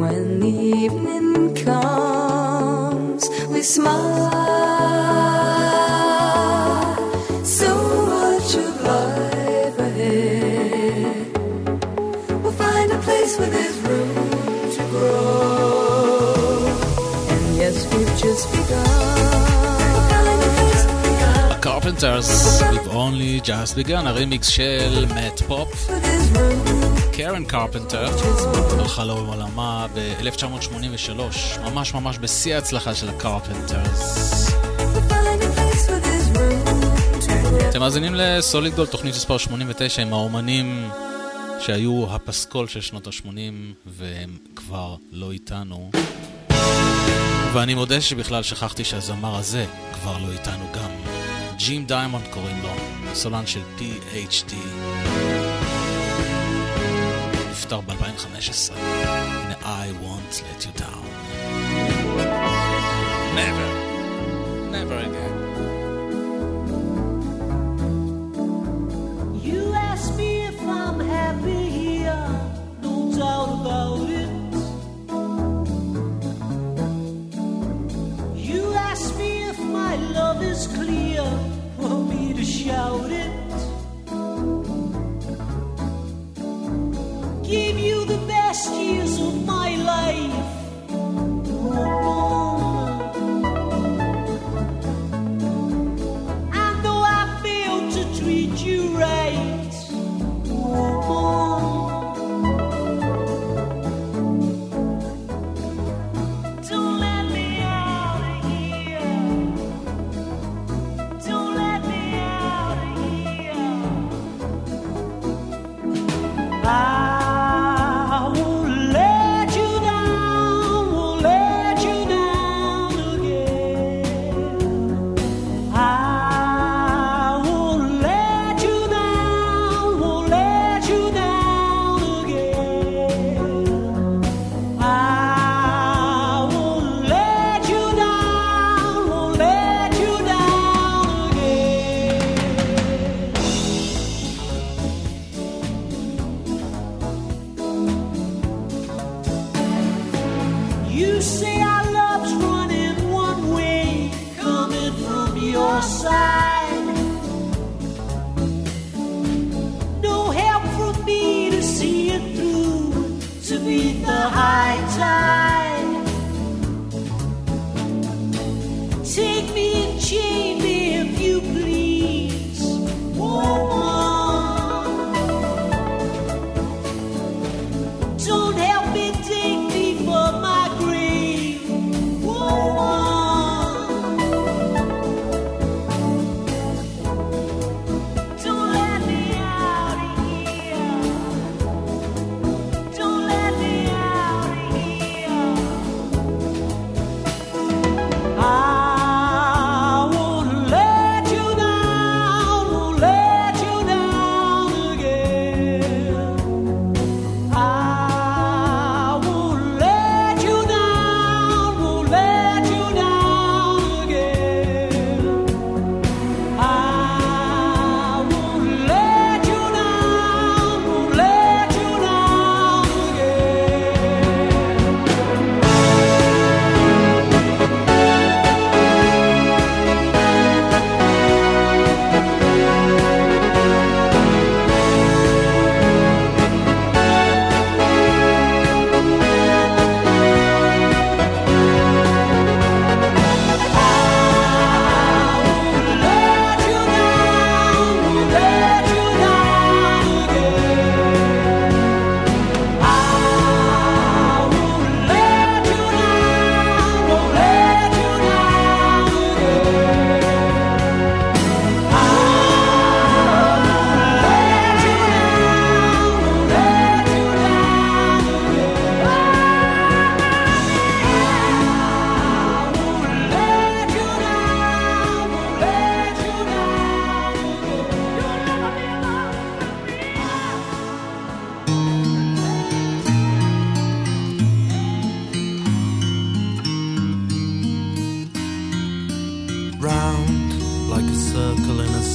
when the evening comes, we smile. So much of life ahead. We'll find a place where there's room to grow. And yes, we've just begun. Carpenters, we've only just begun, הרימיקס של מאט פופ. קרן קרפנטר הלכה לעולמה ב-אלף תשע מאות שמונים ושלוש, ממש ממש בשיא ההצלחה של הקרפנטרס. אתם מאזינים לסוליד גולד, תוכנית מספר שמונים ותשע, עם האומנים שהיו הפסקול של שנות ה-שמונים והם כבר לא איתנו. ואני מודה שבכלל שכחתי שהזמר הזה כבר לא איתנו גם. ג'ים דיימונד קוראים לו, סולן של פי אייץ' די. נפטר ב-אלפיים וחמש עשרה. הנה I won't let you down. Never, never again. You ask me if I'm happy here, no doubt about it. You ask me if my love is clear, for me to shout it. Give you the best years of my life. And though I failed to treat you right, don't let me out of here. Don't let me out of here. I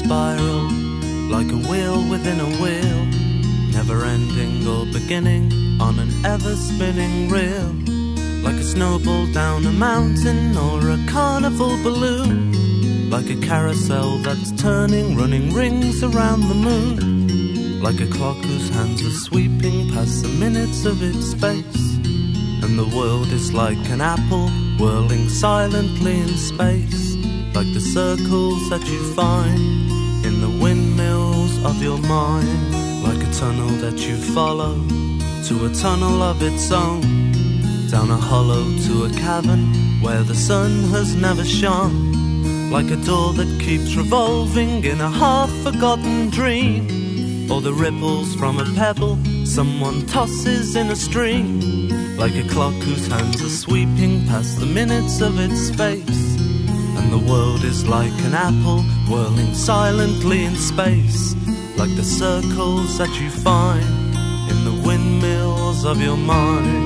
spiral, like a wheel within a wheel, never ending or beginning, on an ever-spinning reel, like a snowball down a mountain or a carnival balloon, like a carousel that's turning, running rings around the moon, like a clock whose hands are sweeping past the minutes of its face, and the world is like an apple whirling silently in space, like the circles that you find in the windmills of your mind, like a tunnel that you follow to a tunnel of its own, down a hollow to a cavern where the sun has never shone, like a door that keeps revolving in a half-forgotten dream, or the ripples from a pebble someone tosses in a stream, like a clock whose hands are sweeping past the minutes of its face, and the world is like an apple whirling silently in space, like the circles that you find in the windmills of your mind.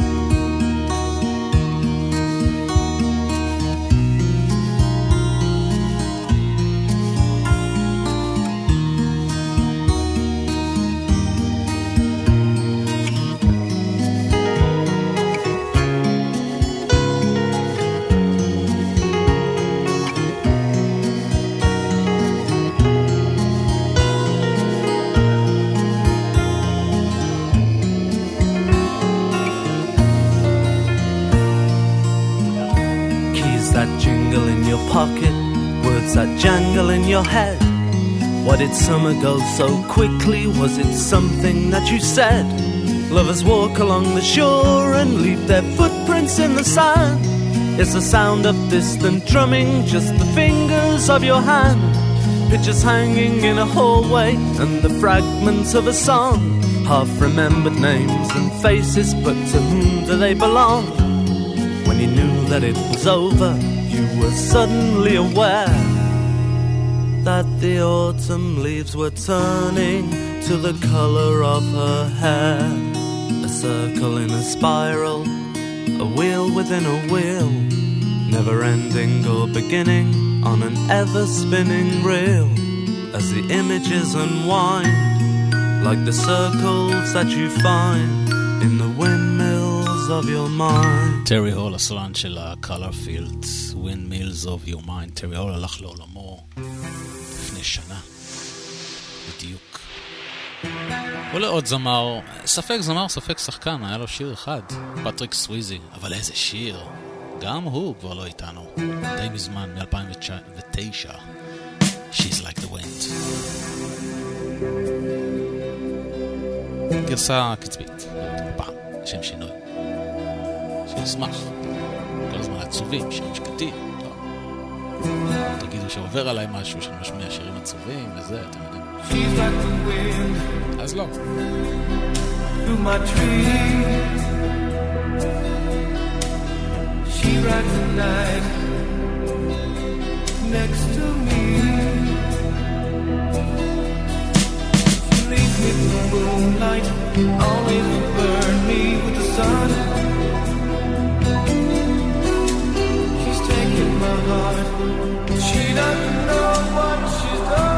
Pocket, words that jangle in your head. Why did summer go so quickly? Was it something that you said? Lovers walk along the shore and leave their footprints in the sand. Is the sound of distant drumming just the fingers of your hand? Pictures hanging in a hallway and the fragments of a song, half-remembered names and faces, but to whom do they belong? When you knew that it was over, you were suddenly aware that the autumn leaves were turning to the color of her hair. A circle in a spiral, a wheel within a wheel, never ending or beginning on an ever-spinning reel, as the images unwind, like the circles that you find in the windmills of your mind. טרי הול, הסולן של ה-Color Fields, Windmills of Your Mind. טרי הול הלך לעולמו לפני שנה בדיוק. ולעוד זמר, ספק זמר, ספק שחקן, היה לו שיר אחד, פטריק סוויזי, אבל איזה שיר, גם הוא כבר לא איתנו, די מזמן, מ-אלפיים ותשע, She's Like the Wind. גרסה קצבית, פעם, שם שינוי. שישמח, כל הזמן עצובים, שירים שקטים, לא. תגידו שעובר עליי משהו שאני משמיע שירים עצובים וזה, אתם יודעים. She's like the wind, אז לא. through my tree. She rides the night next to me. She leaves me in the moonlight, always will burn me with the sun. She's taking my heart, she doesn't know what she's done.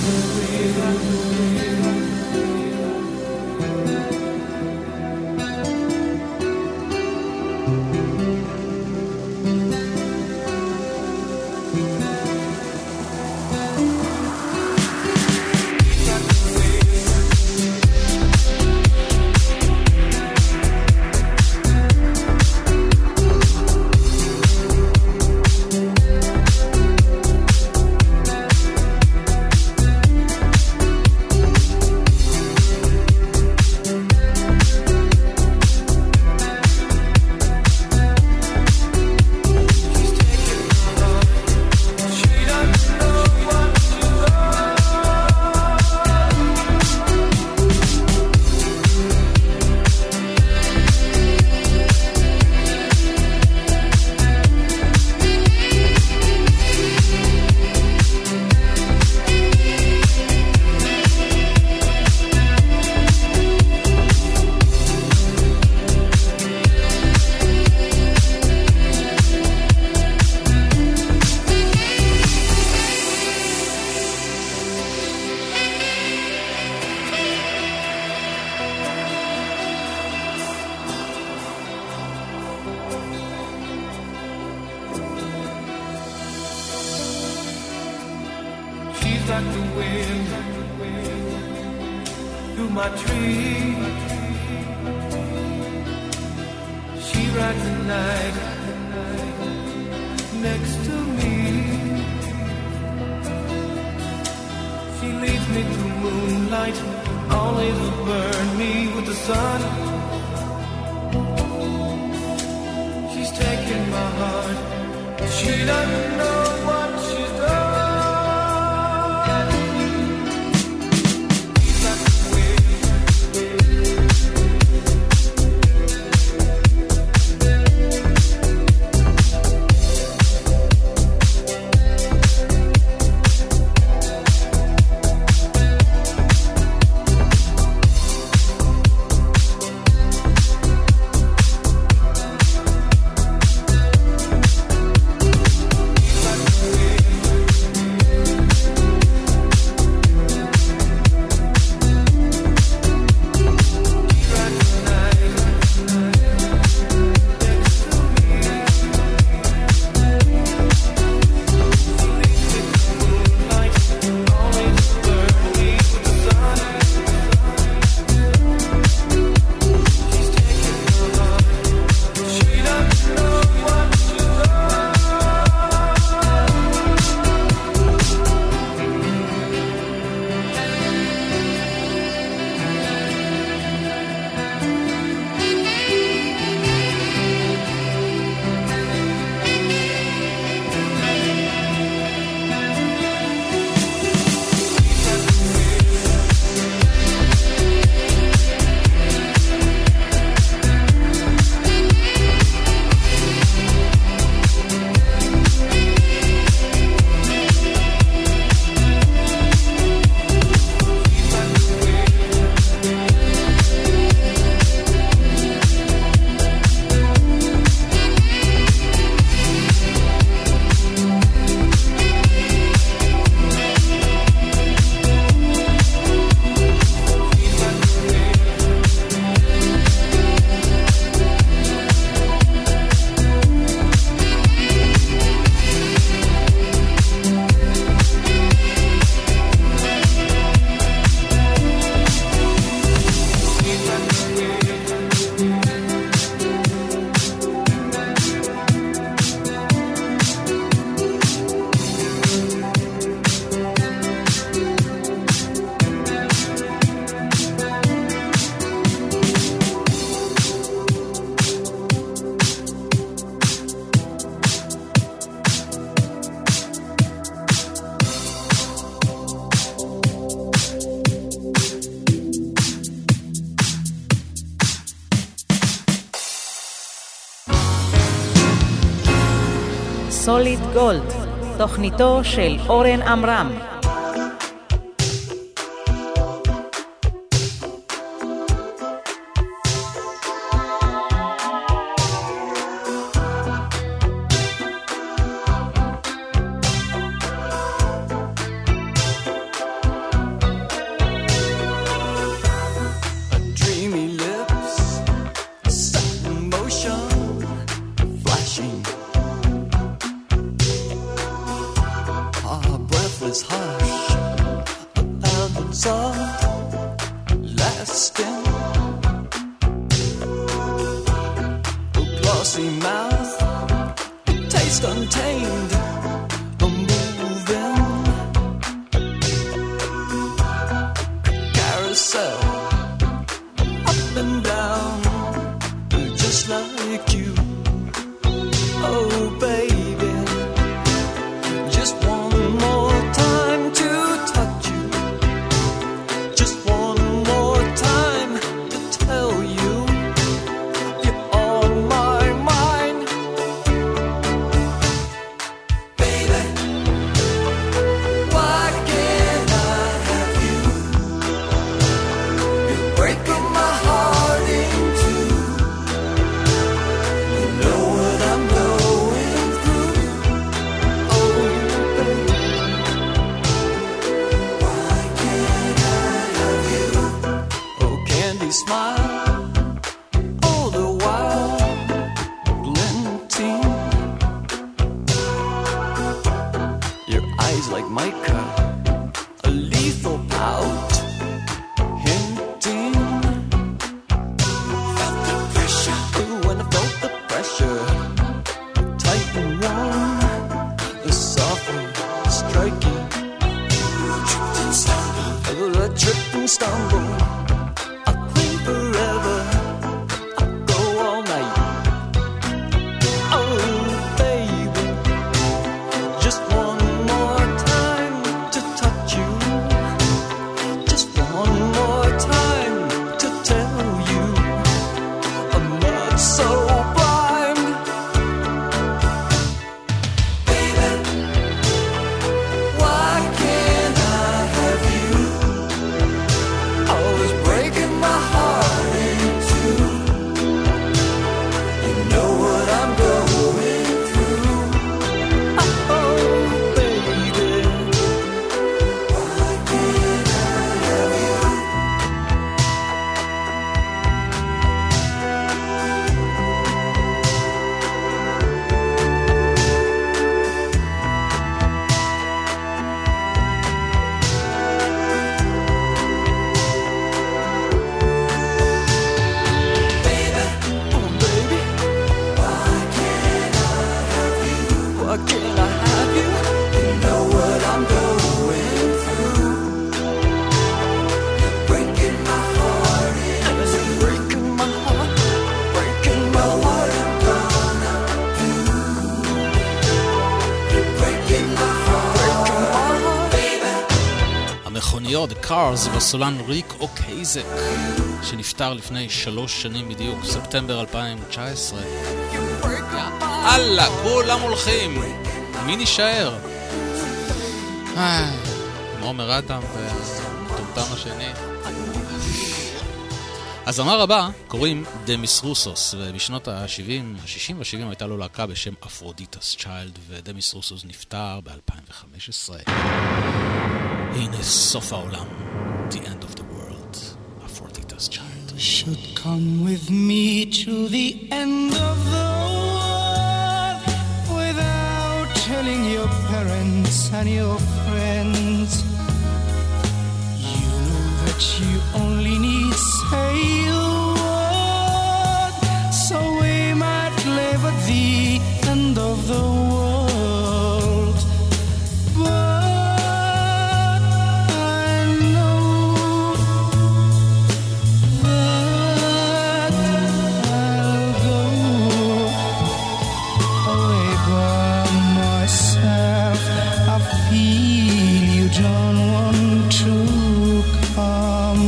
like the wind through my tree. She rides the night next to me. She leads me through moonlight, always will burn me with the sun. She's taking my heart, she doesn't know what she's done. סוליד גולד, תוכניתו של אורן עמרם. is harsh, a pounding salt, lasting. A glossy mouth, taste untamed, a moving carousel, up and down, just like you. Oh baby, just one more time to touch you, just one more time to tell you you're on my mind. Baby, why can't I have you? You're breaking my heart in two. You know what I'm going through. Oh, baby, why can't I have you? Oh, candy smile, all the while glinting. Your eyes like mica, a lethal pout, hinting. Felt the pressure. Ooh, when I felt the pressure, tight and warm, the softly striking. Tripped and stumbled. I tripped and stumbled. I cling forever. I go all night. Oh, baby, just one more time to touch you. Just one more time to tell you I'm not so blind. Baby, why can't I have you? Always breaking my heart in two. You know what I'm going through. Oh, baby, why can't I have you? Baby, oh baby, why can't I have you? Why can't I have you? You know what I'm going through. You're breaking my heart in two. Breaking my heart, breaking my heart. What I'm gonna do? You're breaking my heart, breaking my heart, baby. המכוניות, The Cars, בסולן ריק אוקייזק, שנפטר לפני שלוש שנים בדיוק, ספטמבר אלפיים תשע עשרה. יאללה, כולם הולכים. מי נשאר? איי, עם עומר אדם והטומטם השני. הזמר הבא קוראים דמיס רוסוס, ובשנות ה-שבעים, ה-שישים וה-שבעים הייתה לו להקה בשם אפרודיטס צ'יילד, ודמיס רוסוס נפטר ב-אלפיים וחמש עשרה. הנה סוף העולם, The End of the World, אפרודיטס צ'יילד. Should come with me to the end of the world without telling your parents and your friends. You know that you only need say a word, so we might live at the end of the world. But I know that I'll go away by myself. I feel you don't want to come.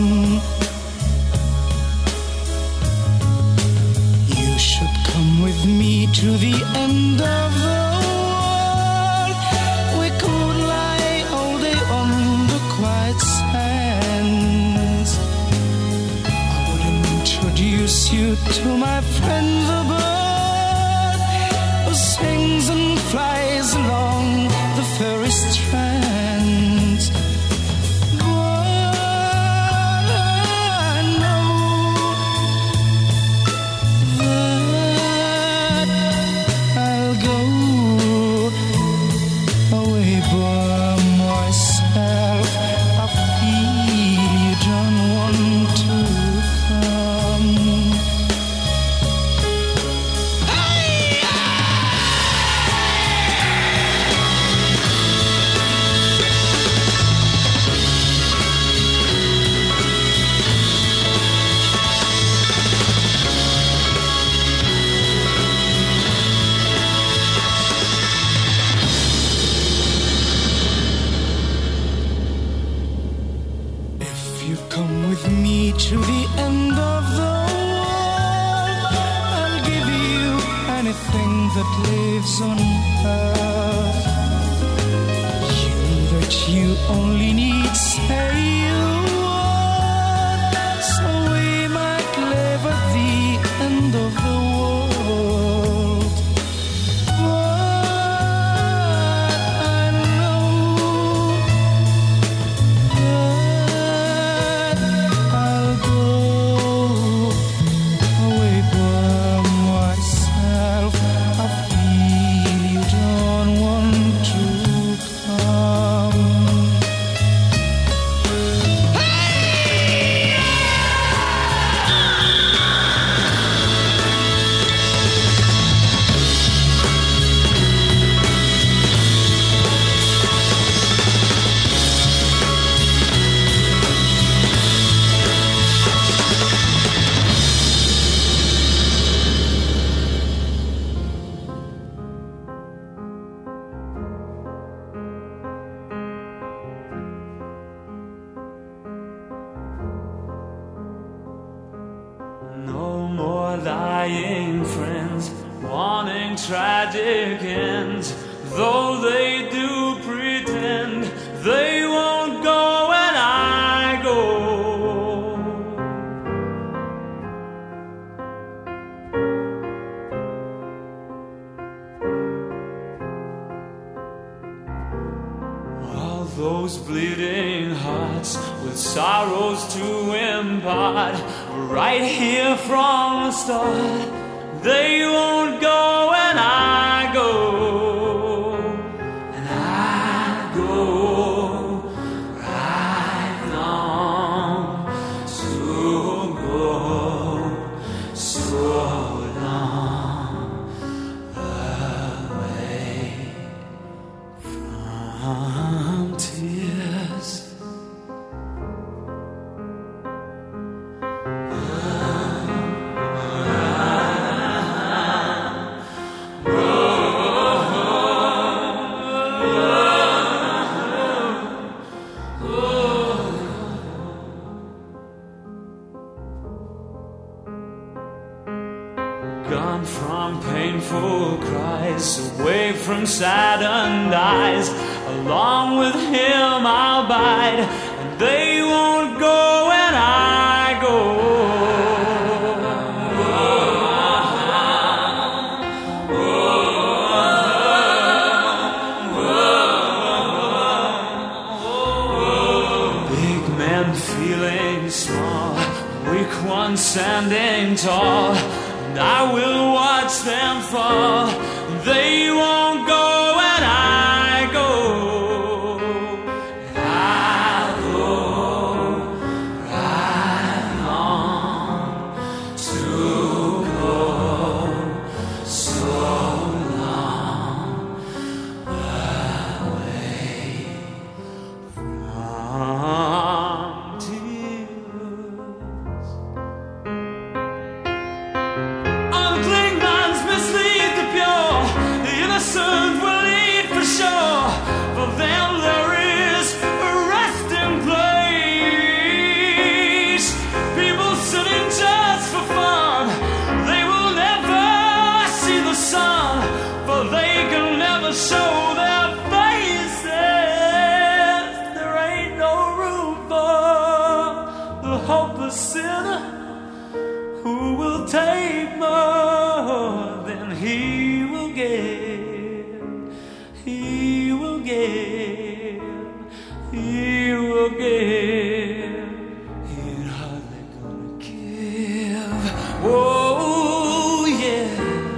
You should come with me to the end of the world. We could lie all day on the quiet sands. I would introduce you to my friend the bird who sings and flies along the furry strands. But I know that I'll go away by myself. lives on earth. You that you only need say a word, so we might live at the end of the world. But I know that I'll go away by myself. I feel you don't want to come. No more lying friends, wanting tragic ends. Though they do pretend, they won't go when I go. All those bleeding hearts with sorrows to impart, right here from the start, they won't go when I go. And I go right long to go so long away from tears. Gone from painful cries, away from saddened eyes. Along with him I'll bide, and they won't go when I go. Big men feeling small, weak ones standing tall, and I will watch them fall. They won't go when I go. And I'll go right on to go so long away from tears. All Klingons mislead the pure, the innocent will lead for sure. For them there is a resting place. People sitting just for fun, they will never see the sun, for they can never show their faces. There ain't no room for the hopeless sinner who will take more than he will give. He will give. He will give. He ain't hardly gonna give. Oh yeah.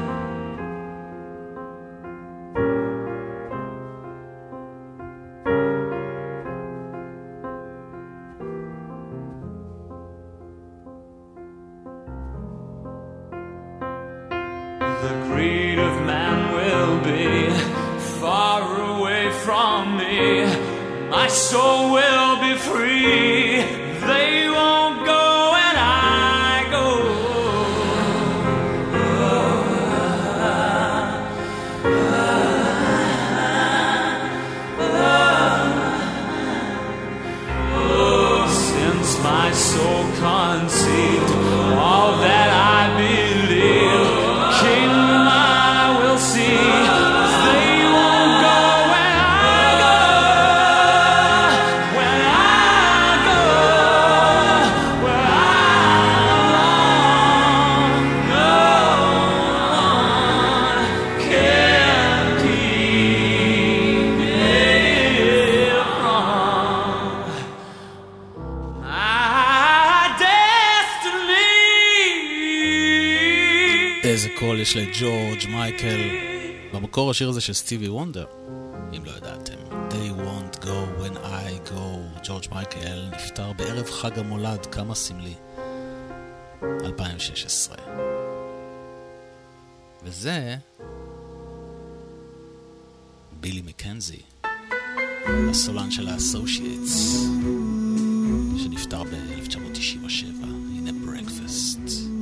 The greed of man will be far away from me. My soul will be free. They won't go when I go. Since my soul conceived all that I believe, King I will see. מקדיש לג'ורג' מייקל. במקור השיר הזה של סטיבי וונדר, אם לא ידעתם. They won't go when I go. ג'ורג' מייקל נפטר בערב חג המולד, כמה סמלי. אלפיים ושש עשרה. וזה בילי מקנזי, הסולן של האסושייטס, שנפטר ב-אלף תשע מאות תשעים ושבע. הנה ברקפסט.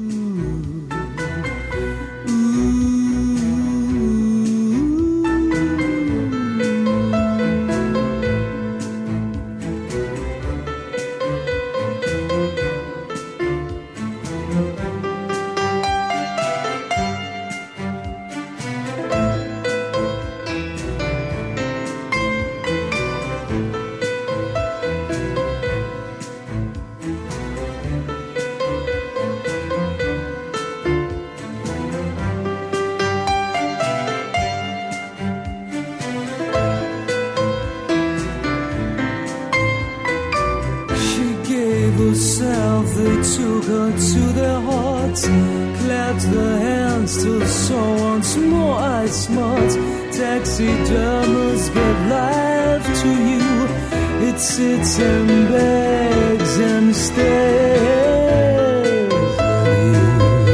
Taxidermists give life to you. It sits and begs and stares at you.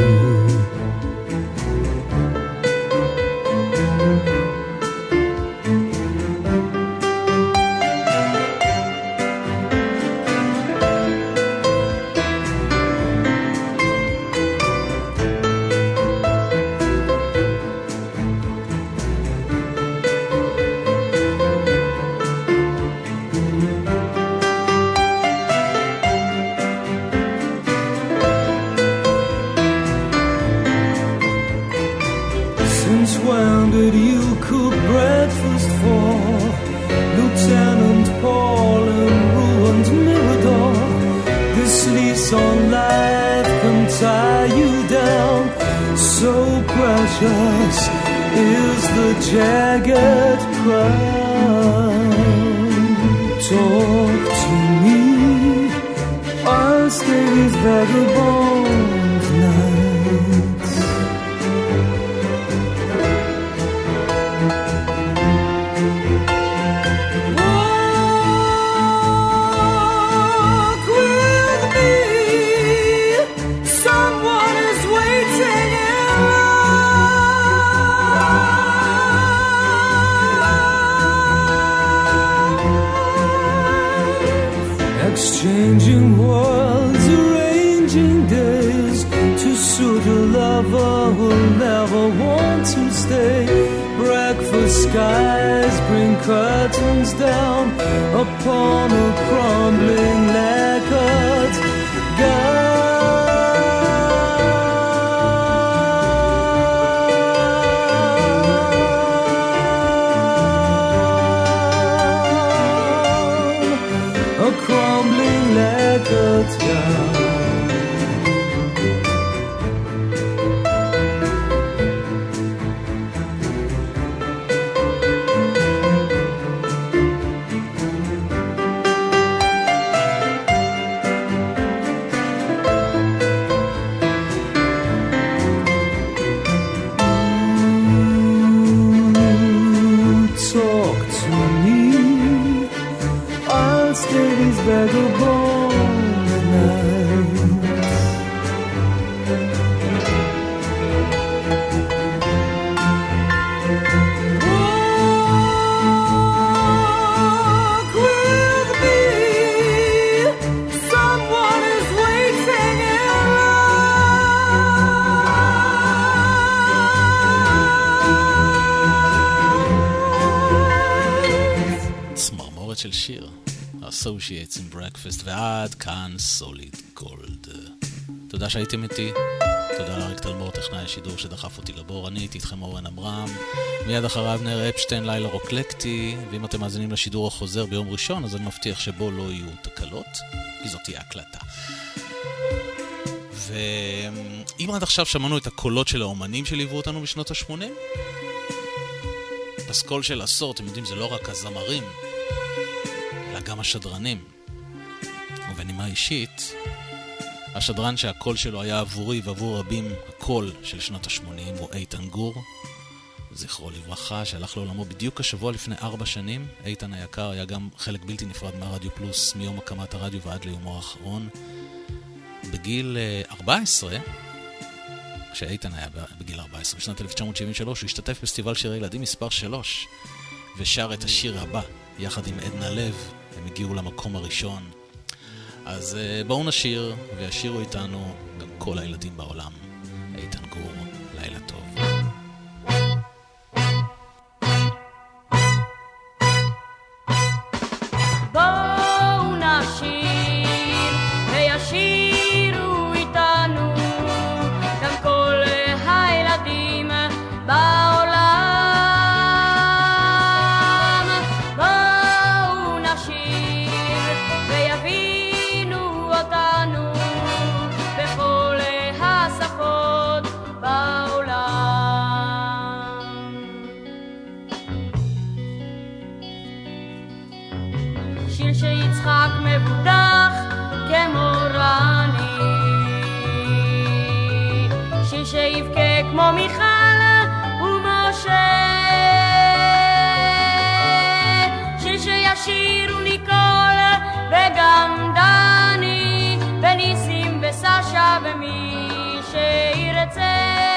Is the jagged crown. Talk to me, I'll stay these vagabond nights. Walk with me, someone is waiting in exchanging worlds, arranging days to suit a lover who'll never want to stay. Breakfast skies bring curtains down upon a crumbling lacquered gown. A crumbling lacquered gown. Talk to me, I'll stay these vagabond nights. Walk with me, someone is waiting in line. צמרמורת של שיר. Associates in Breakfast, ועד כאן סוליד גולד. תודה שהייתם איתי, תודה לאריק תלמור, טכנאי השידור שדחף אותי לבור. אני הייתי איתכם אורן אמרם, מיד אחריו נר אפשטיין, לילה רוקלקטי. ואם אתם מאזינים לשידור החוזר ביום ראשון, אז אני מבטיח שבו לא יהיו תקלות, כי זאת תהיה הקלטה. ואם עד עכשיו שמענו את הקולות של האומנים שליוו אותנו בשנות ה-שמונים, פסקול של עשור, אתם יודעים, זה לא רק הזמרים, אלא גם השדרנים. ובנימה אישית, השדרן שהקול שלו היה עבורי ועבור רבים הקול של שנות ה-שמונים הוא איתן גור, זכרו לברכה, שהלך לעולמו בדיוק השבוע לפני ארבע שנים. איתן היקר היה גם חלק בלתי נפרד מהרדיו פלוס מיום הקמת הרדיו ועד ליומו האחרון. בגיל ארבע עשרה, כשאיתן היה בגיל ארבע עשרה, בשנת אלף תשע מאות שבעים ושלוש, הוא השתתף בפסטיבל שירי ילדים מספר שלוש, ושר את השיר הבא יחד עם עדנה לב. הם הגיעו למקום הראשון. אז בואו נשיר, וישירו איתנו גם כל הילדים בעולם. איתן גור, לילה טוב. בואו נשיר וישירו איתנו גם כל הילדים בעולם. בואו נשיר ויבינו אותנו בכל השפות בעולם. שיר שיצחק מבודח כמו רני, שיר שיבכה כמו מיכל ומשה, שיר שישירו ניקול וגם דני וניסים וסשה ומי שירצה.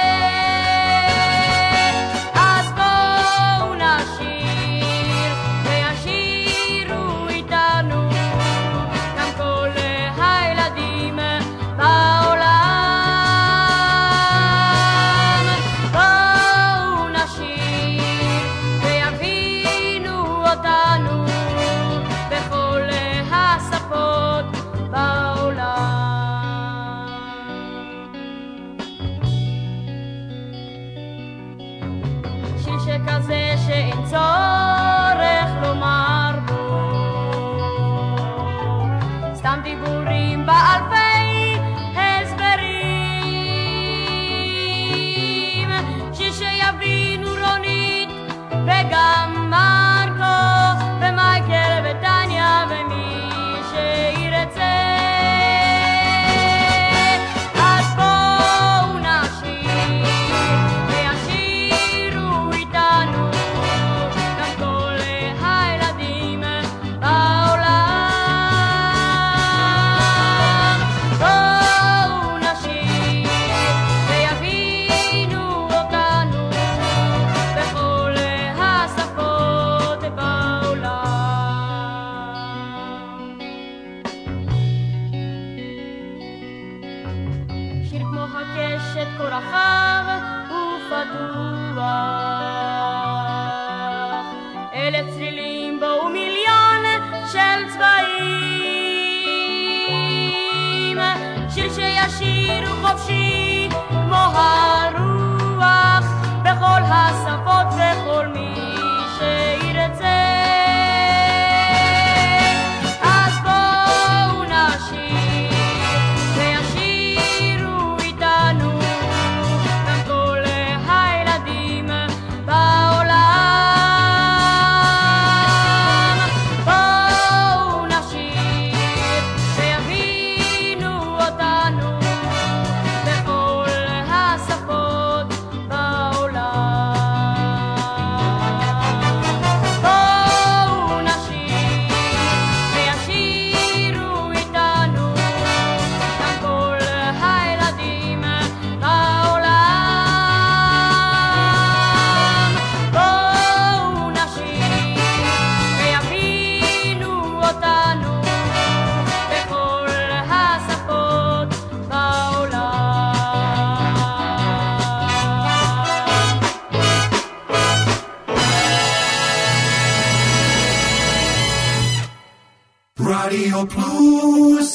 אז בואו נשיר וישירו איתנו גם כל הילדים בעולם. בואו נשיר ויבינו אותנו בכל השפות בעולם. שיר שכזה שאין צורך לומר בו סתם דיבורים באלפי הסברים. שיר שיבינו רונית וגם מרקו ומייקל וטניה ומי שירצה. אז בואו נשיר וישירו איתנו גם כל הילדים בעולם. בואו נשיר ויבינו אותנו בכל השפות בעולם. שיר כמו הקשת כה רחב ופתוח, אלף צלילים בו ומיליון של צבעים. שיר שישירו חופשי כמו הרוח בכל השפות וכל מי שירצה. אז בואו נשיר וישירו איתנו גם כל הילדים בעולם. בואו נשיר ויבינו אותנו בכל השפות בעולם. בואו נשיר וישירו איתנו גם כל הילדים בעולם. בואו נשיר ויבינו אותנו בכל השפות בעולם. רדיו פלוס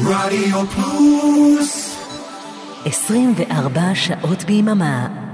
רדיו פלוס עשרים וארבע שעות ביממה.